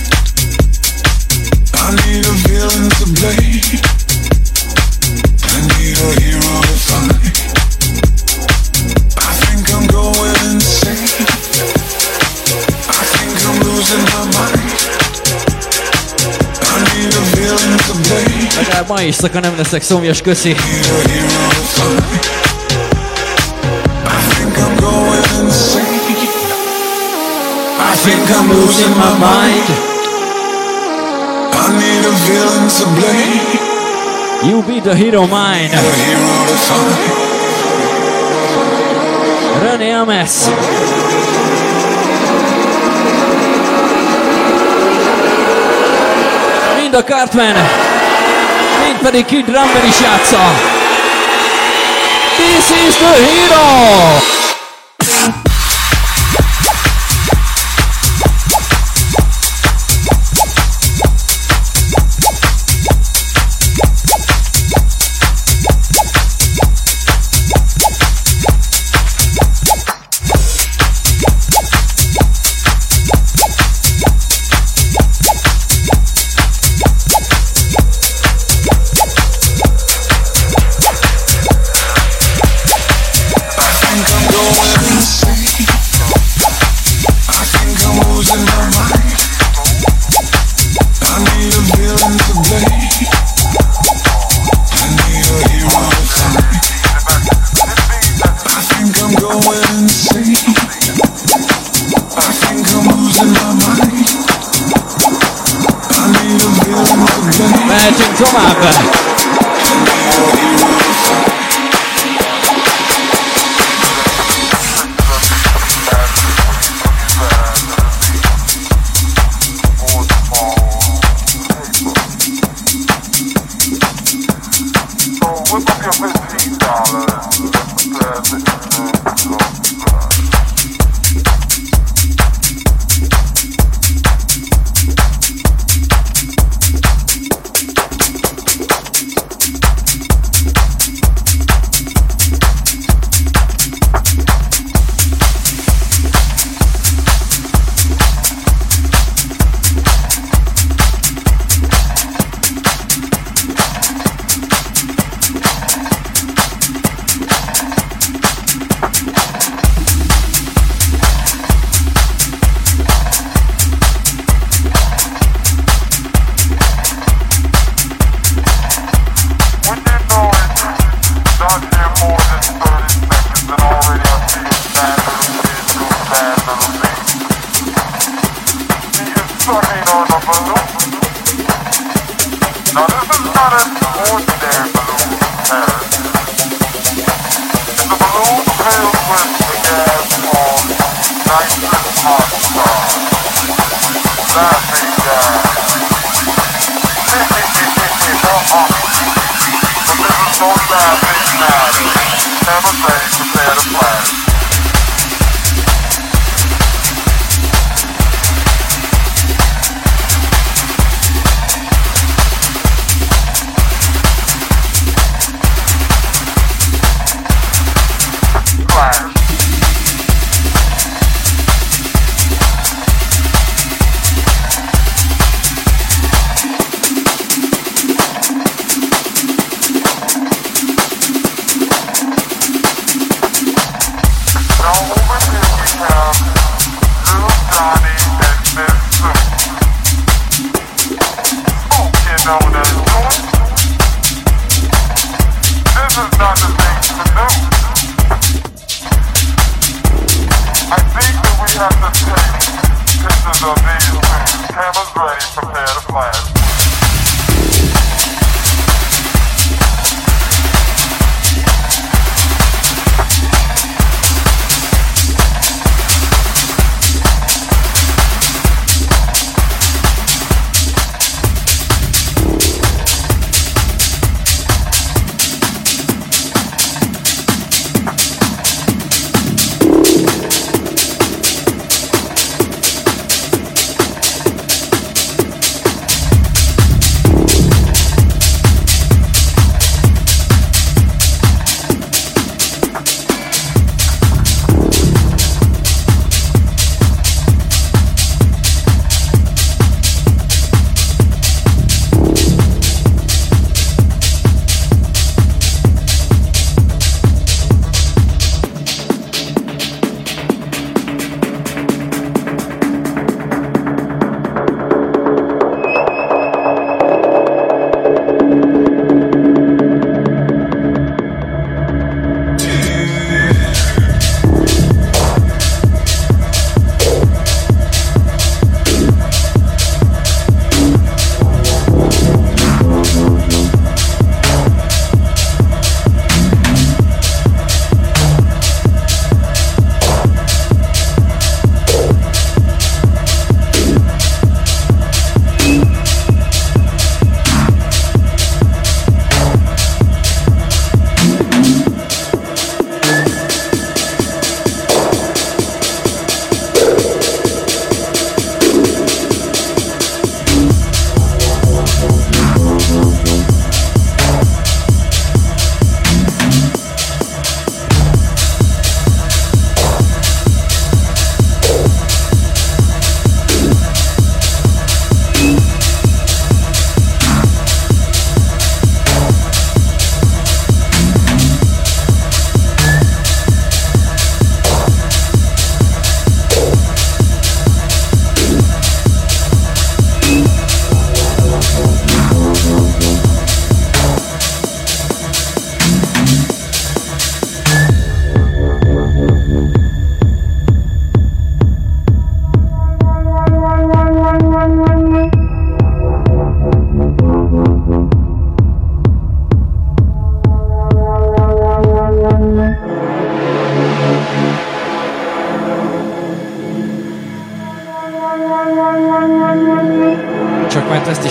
I need a villain to blame. I need a hero to find. I think I'm going insane. I think I'm losing my mind. I need a villain to blame. Legalább ma éjszaka nem leszek szomjas, köszi. I think I'm going insane. I think I'm losing my mind. I need a villain to blame. You be the hero mine. A hero to find. René Ames. Mind a Cartman, mind pedig Kid Drummer is játsza. This is the hero! Mehetünk tovább.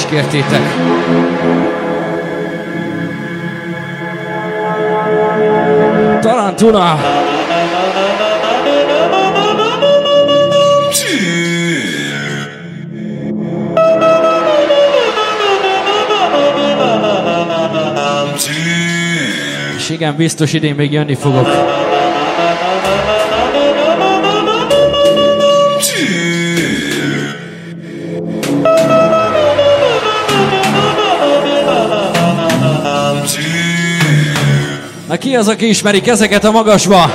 kértétek. Tarantula! És igen, biztos idén még jönni fogok. Na ki az, aki ismeri kezeket a magasba?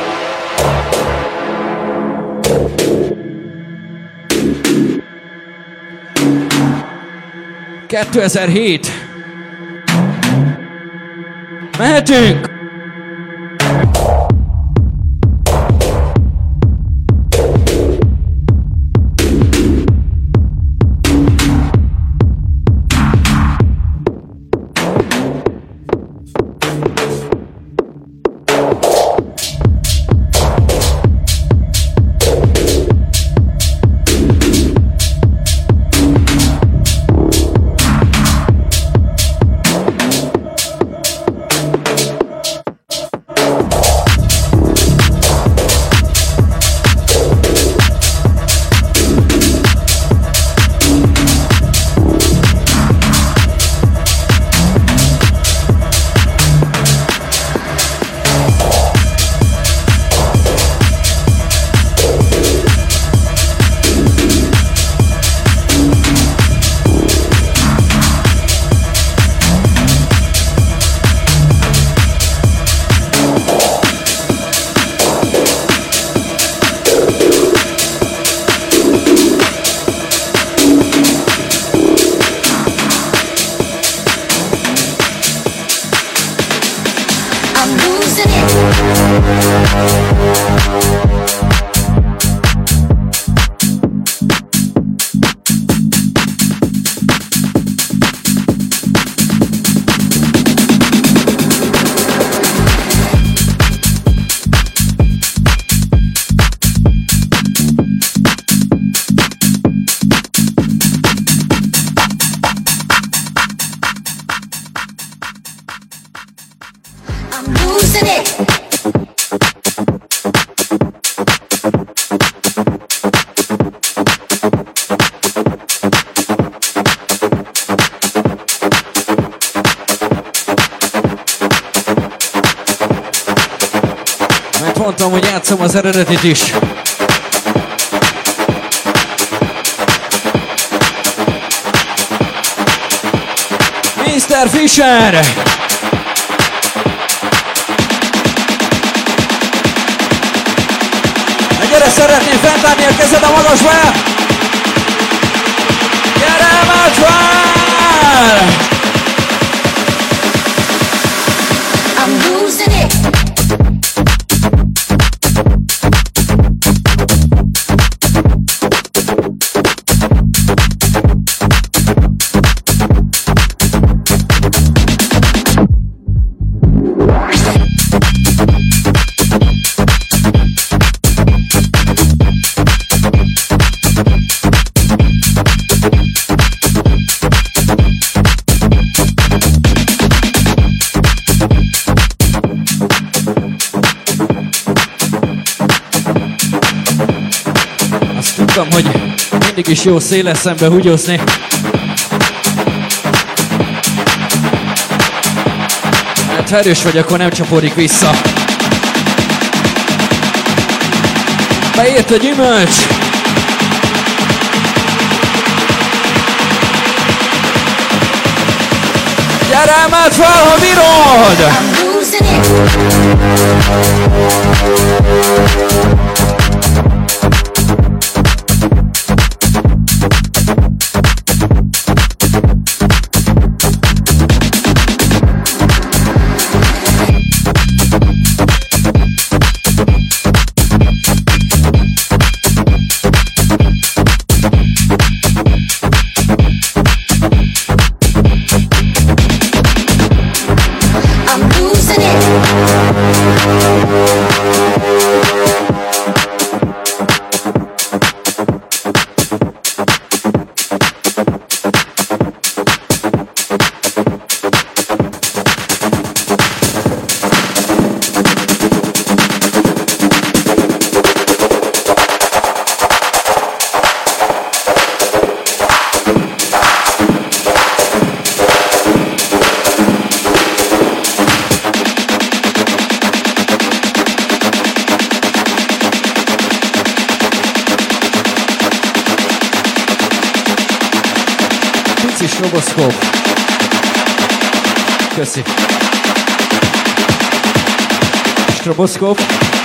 ...2007. Mehetünk! Mondtam, hogy játszom az eredetit is. Mr. Fisher! Na gyere, szeretném fenntartni a kezed a magasba! Gyere, Maxwell! I'm losing it. Tudtam, hogy mindig is jó széles szembe húgyozni. Hát ha erős vagy, akkor nem csapódik vissza. Beért a gyümölcs! Gyere már fel, ha bírod! Köszi, Stroboszkóp. Köszi. Stroboszkóp.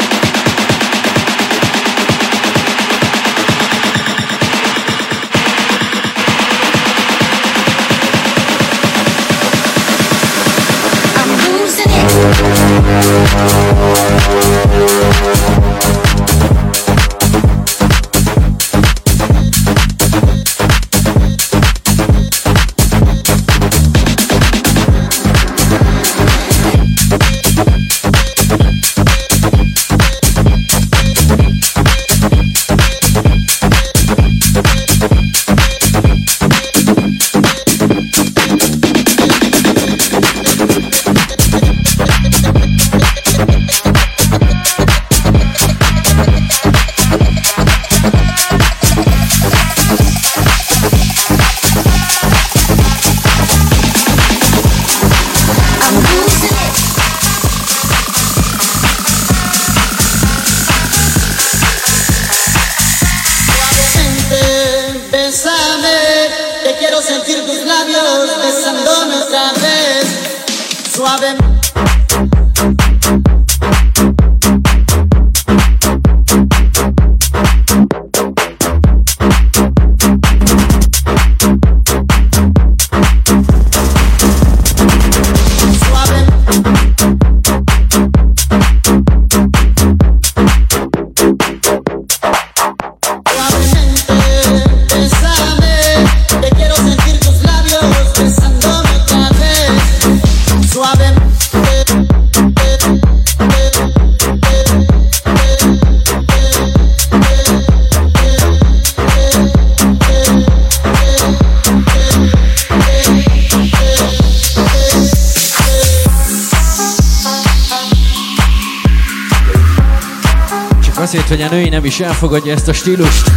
Azért, hogy a női nem is elfogadja ezt a stílust.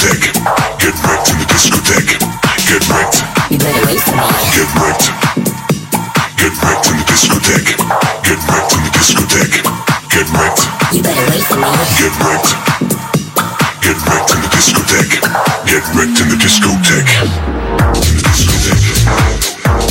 discotheque. Get wrecked in the discotheque. Get wrecked. Get wrecked. Get wrecked in the discotheque. Get wrecked in the discotheque. Get wrecked. Get wrecked. Get wrecked in the discotheque. Get wrecked in the discotheque. In the discotheque.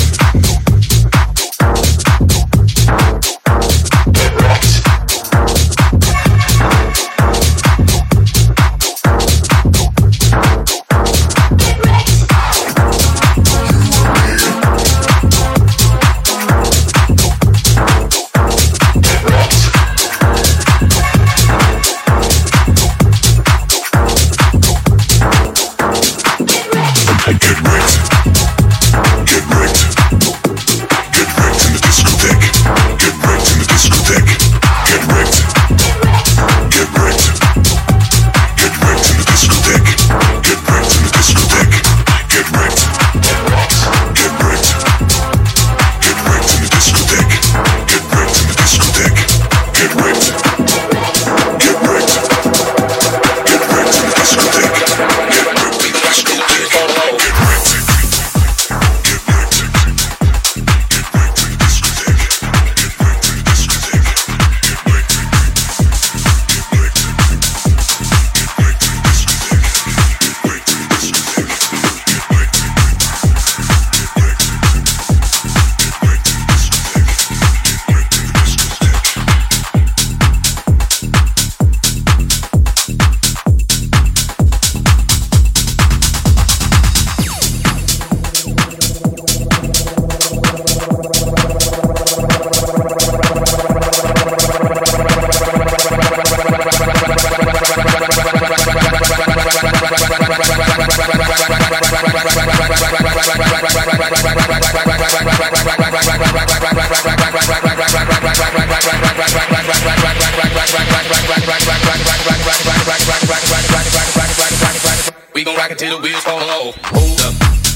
We gon' rock it till the wheels fall off. Hold up,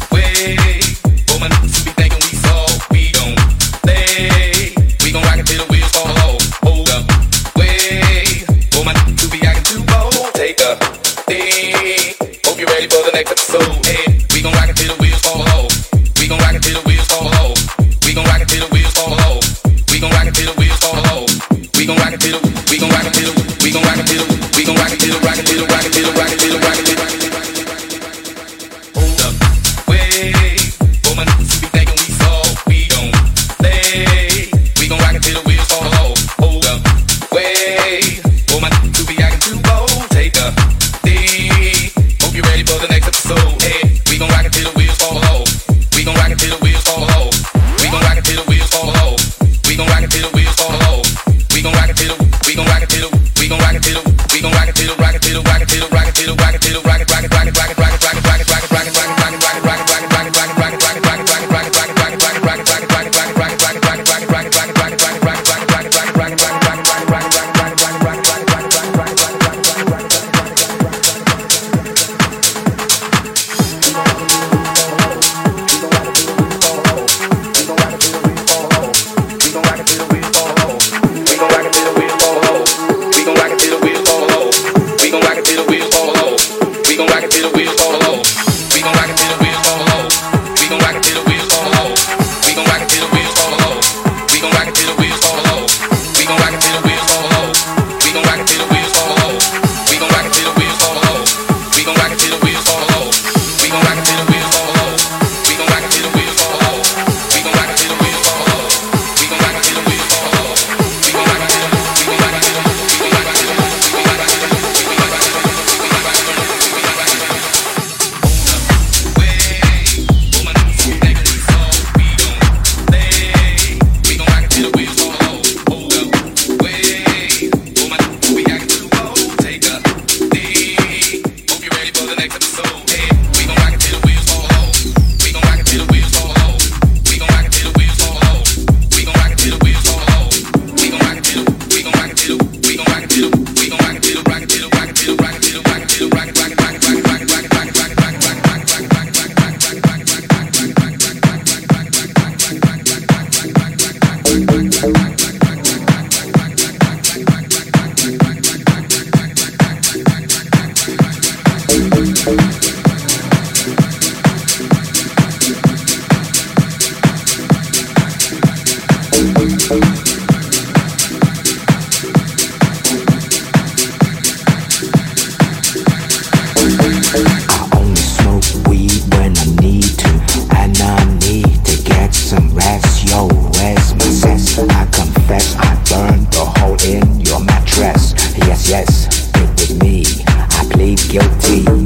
wait. Woman, be thinking we soft. We gon' play. We gon' rock it till the wheels fall off. Hold up, wait. Woman, to be acting too bold. Take a thing. Hope you're ready for the next episode. Hey, we gon' rock it till the wheels fall off. We gon' rock it till the wheels fall off. We gon' rock it till the wheels fall off. We gon' rock it till the wheels fall off. We gon' rock it till the. We gon' rock it till the. We gon' rock it till the. We gon' rock it till the. Rock it till the. Rock it till the. Rock it till the. Rock it till the.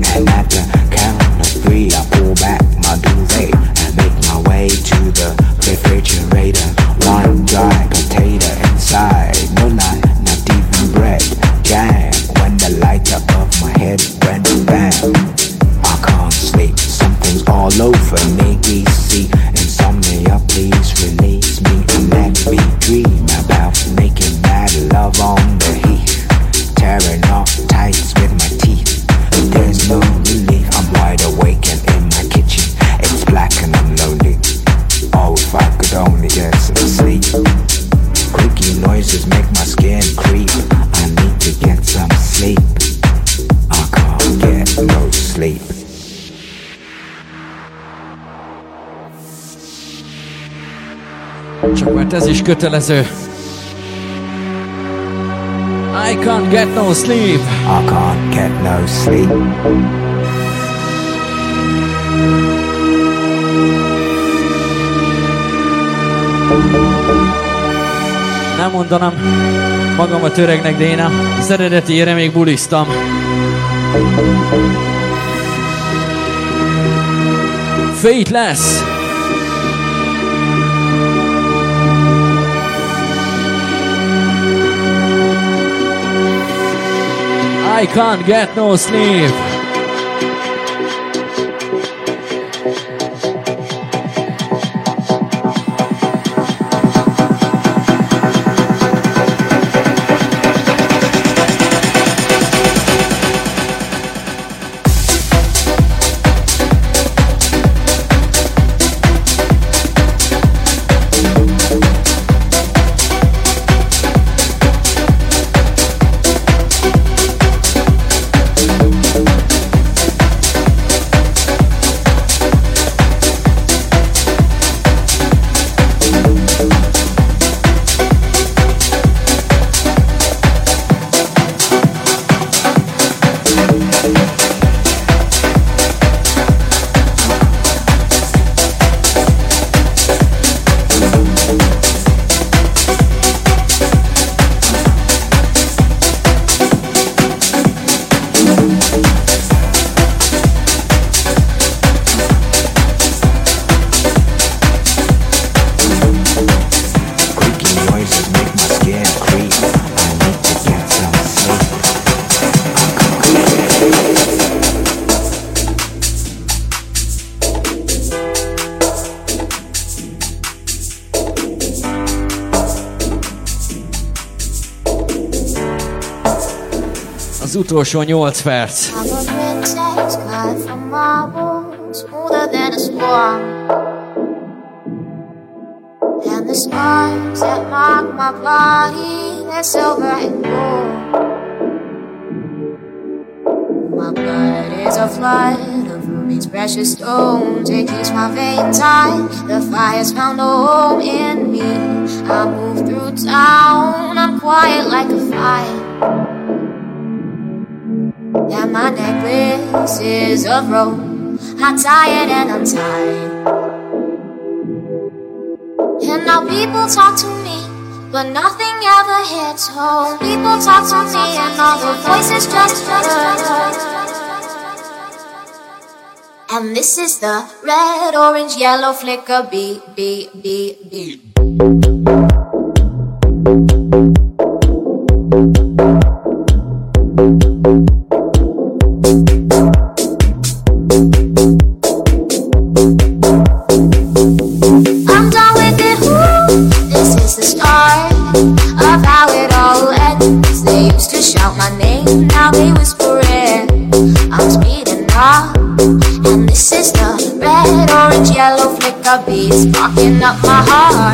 And at the count of 3, I pull back my duvet and make my way to the refrigerator. One dry potato inside, no lie, not even bread, jam. When the lighter of my head went bam, I can't sleep, something's all over me. DC, insomnia, please release me and let me dream about making mad love on the heath, tearing off tights with my teeth. There's no relief, I'm wide awake and in my kitchen. It's black and I'm lonely. Oh, if I could only get some sleep. Creaky noises make my skin creep. I need to get some sleep. I can't get no sleep. Csak mert ez is kötelező. I can't get no sleep. I can't get no sleep. Nem mondanám magamat öregnek, de én az eredetiére még buliztam. Fateless. I can't get no sleep. Az utolsó 8 perc. And the scars that mark my body, they're silver and gold. My blood is a flood of ruby's precious stones. It keeps my veins tight. The fire's found a home in me. I move through town, I'm quiet like a fire. And my necklace is of rope. I'm tired and I'm tired. And now people talk to me, but nothing ever hits home. People talk to me and all the voices just hurt. And this is the red, orange, yellow flicker beat, beat, beat, beat. Beats sparking up my heart.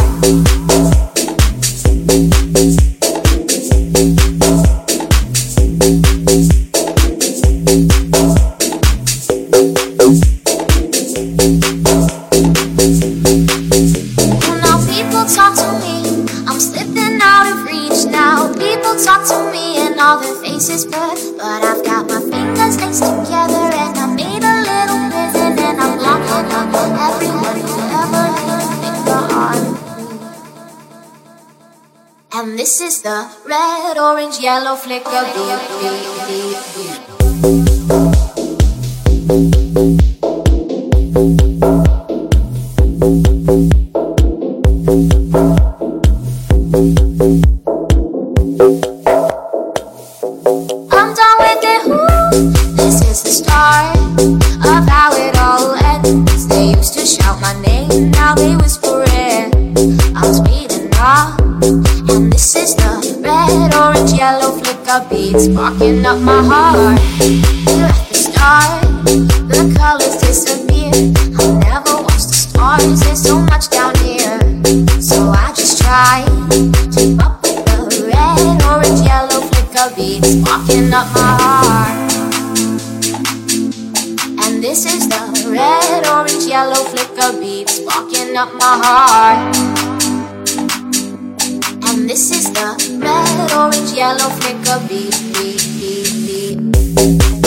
Now people talk to me, I'm slipping out of reach now. People talk to me and all their faces blur, but I've got my fingers laced together and I made a little prison and I'm locking up everyone. And this is the red, orange, yellow flicker beat, beat, beat, beat. I'm done with it, ooh. This is the start of how it all ends. They used to shout my name, now they whisper it. I'm speeding up, and this is the red, orange, yellow flicker beat sparking up my heart. We're at the start, the colors disappear. I'll never watch the stars, there's so much down here. So I just try to keep up with the red, orange, yellow flicker beats sparking up my heart. And this is the red, orange, yellow flicker beat sparking up my heart. And this is the red, orange, yellow flicker beat, beat, beat, beat.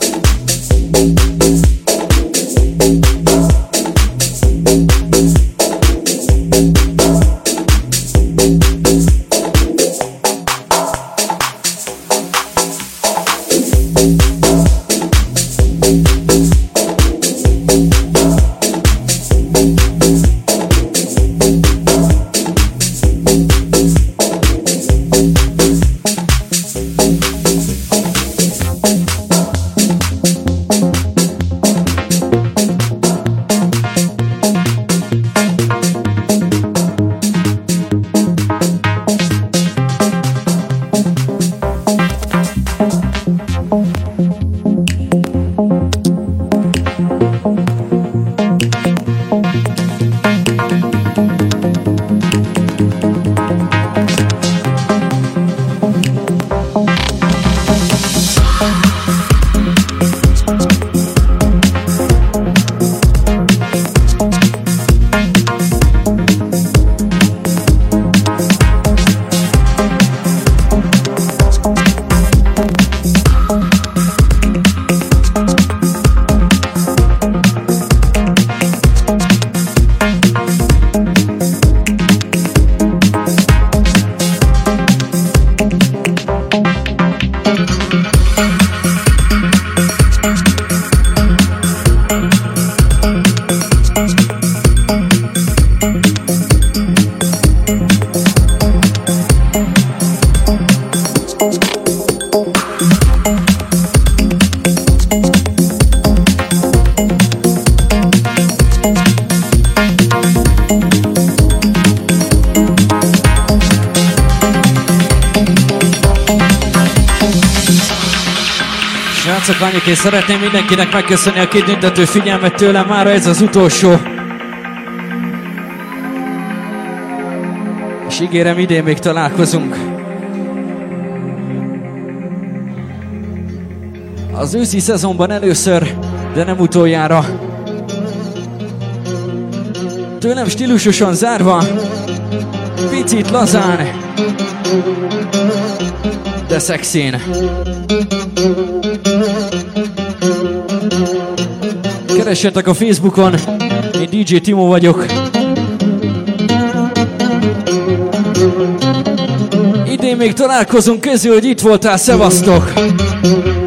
Srácok, lányok, én szeretném mindenkinek megköszönni a kitüntető figyelmet tőlem, mára ez az utolsó. És ígérem, idén még találkozunk. Az őszi szezonban először, de nem utoljára. Tőlem stílusosan zárva, picit lazán, de szexén. Keressetek a Facebookon, én DJ Timo vagyok. Idén még találkozunk, közül, hogy itt voltál, szevasztok!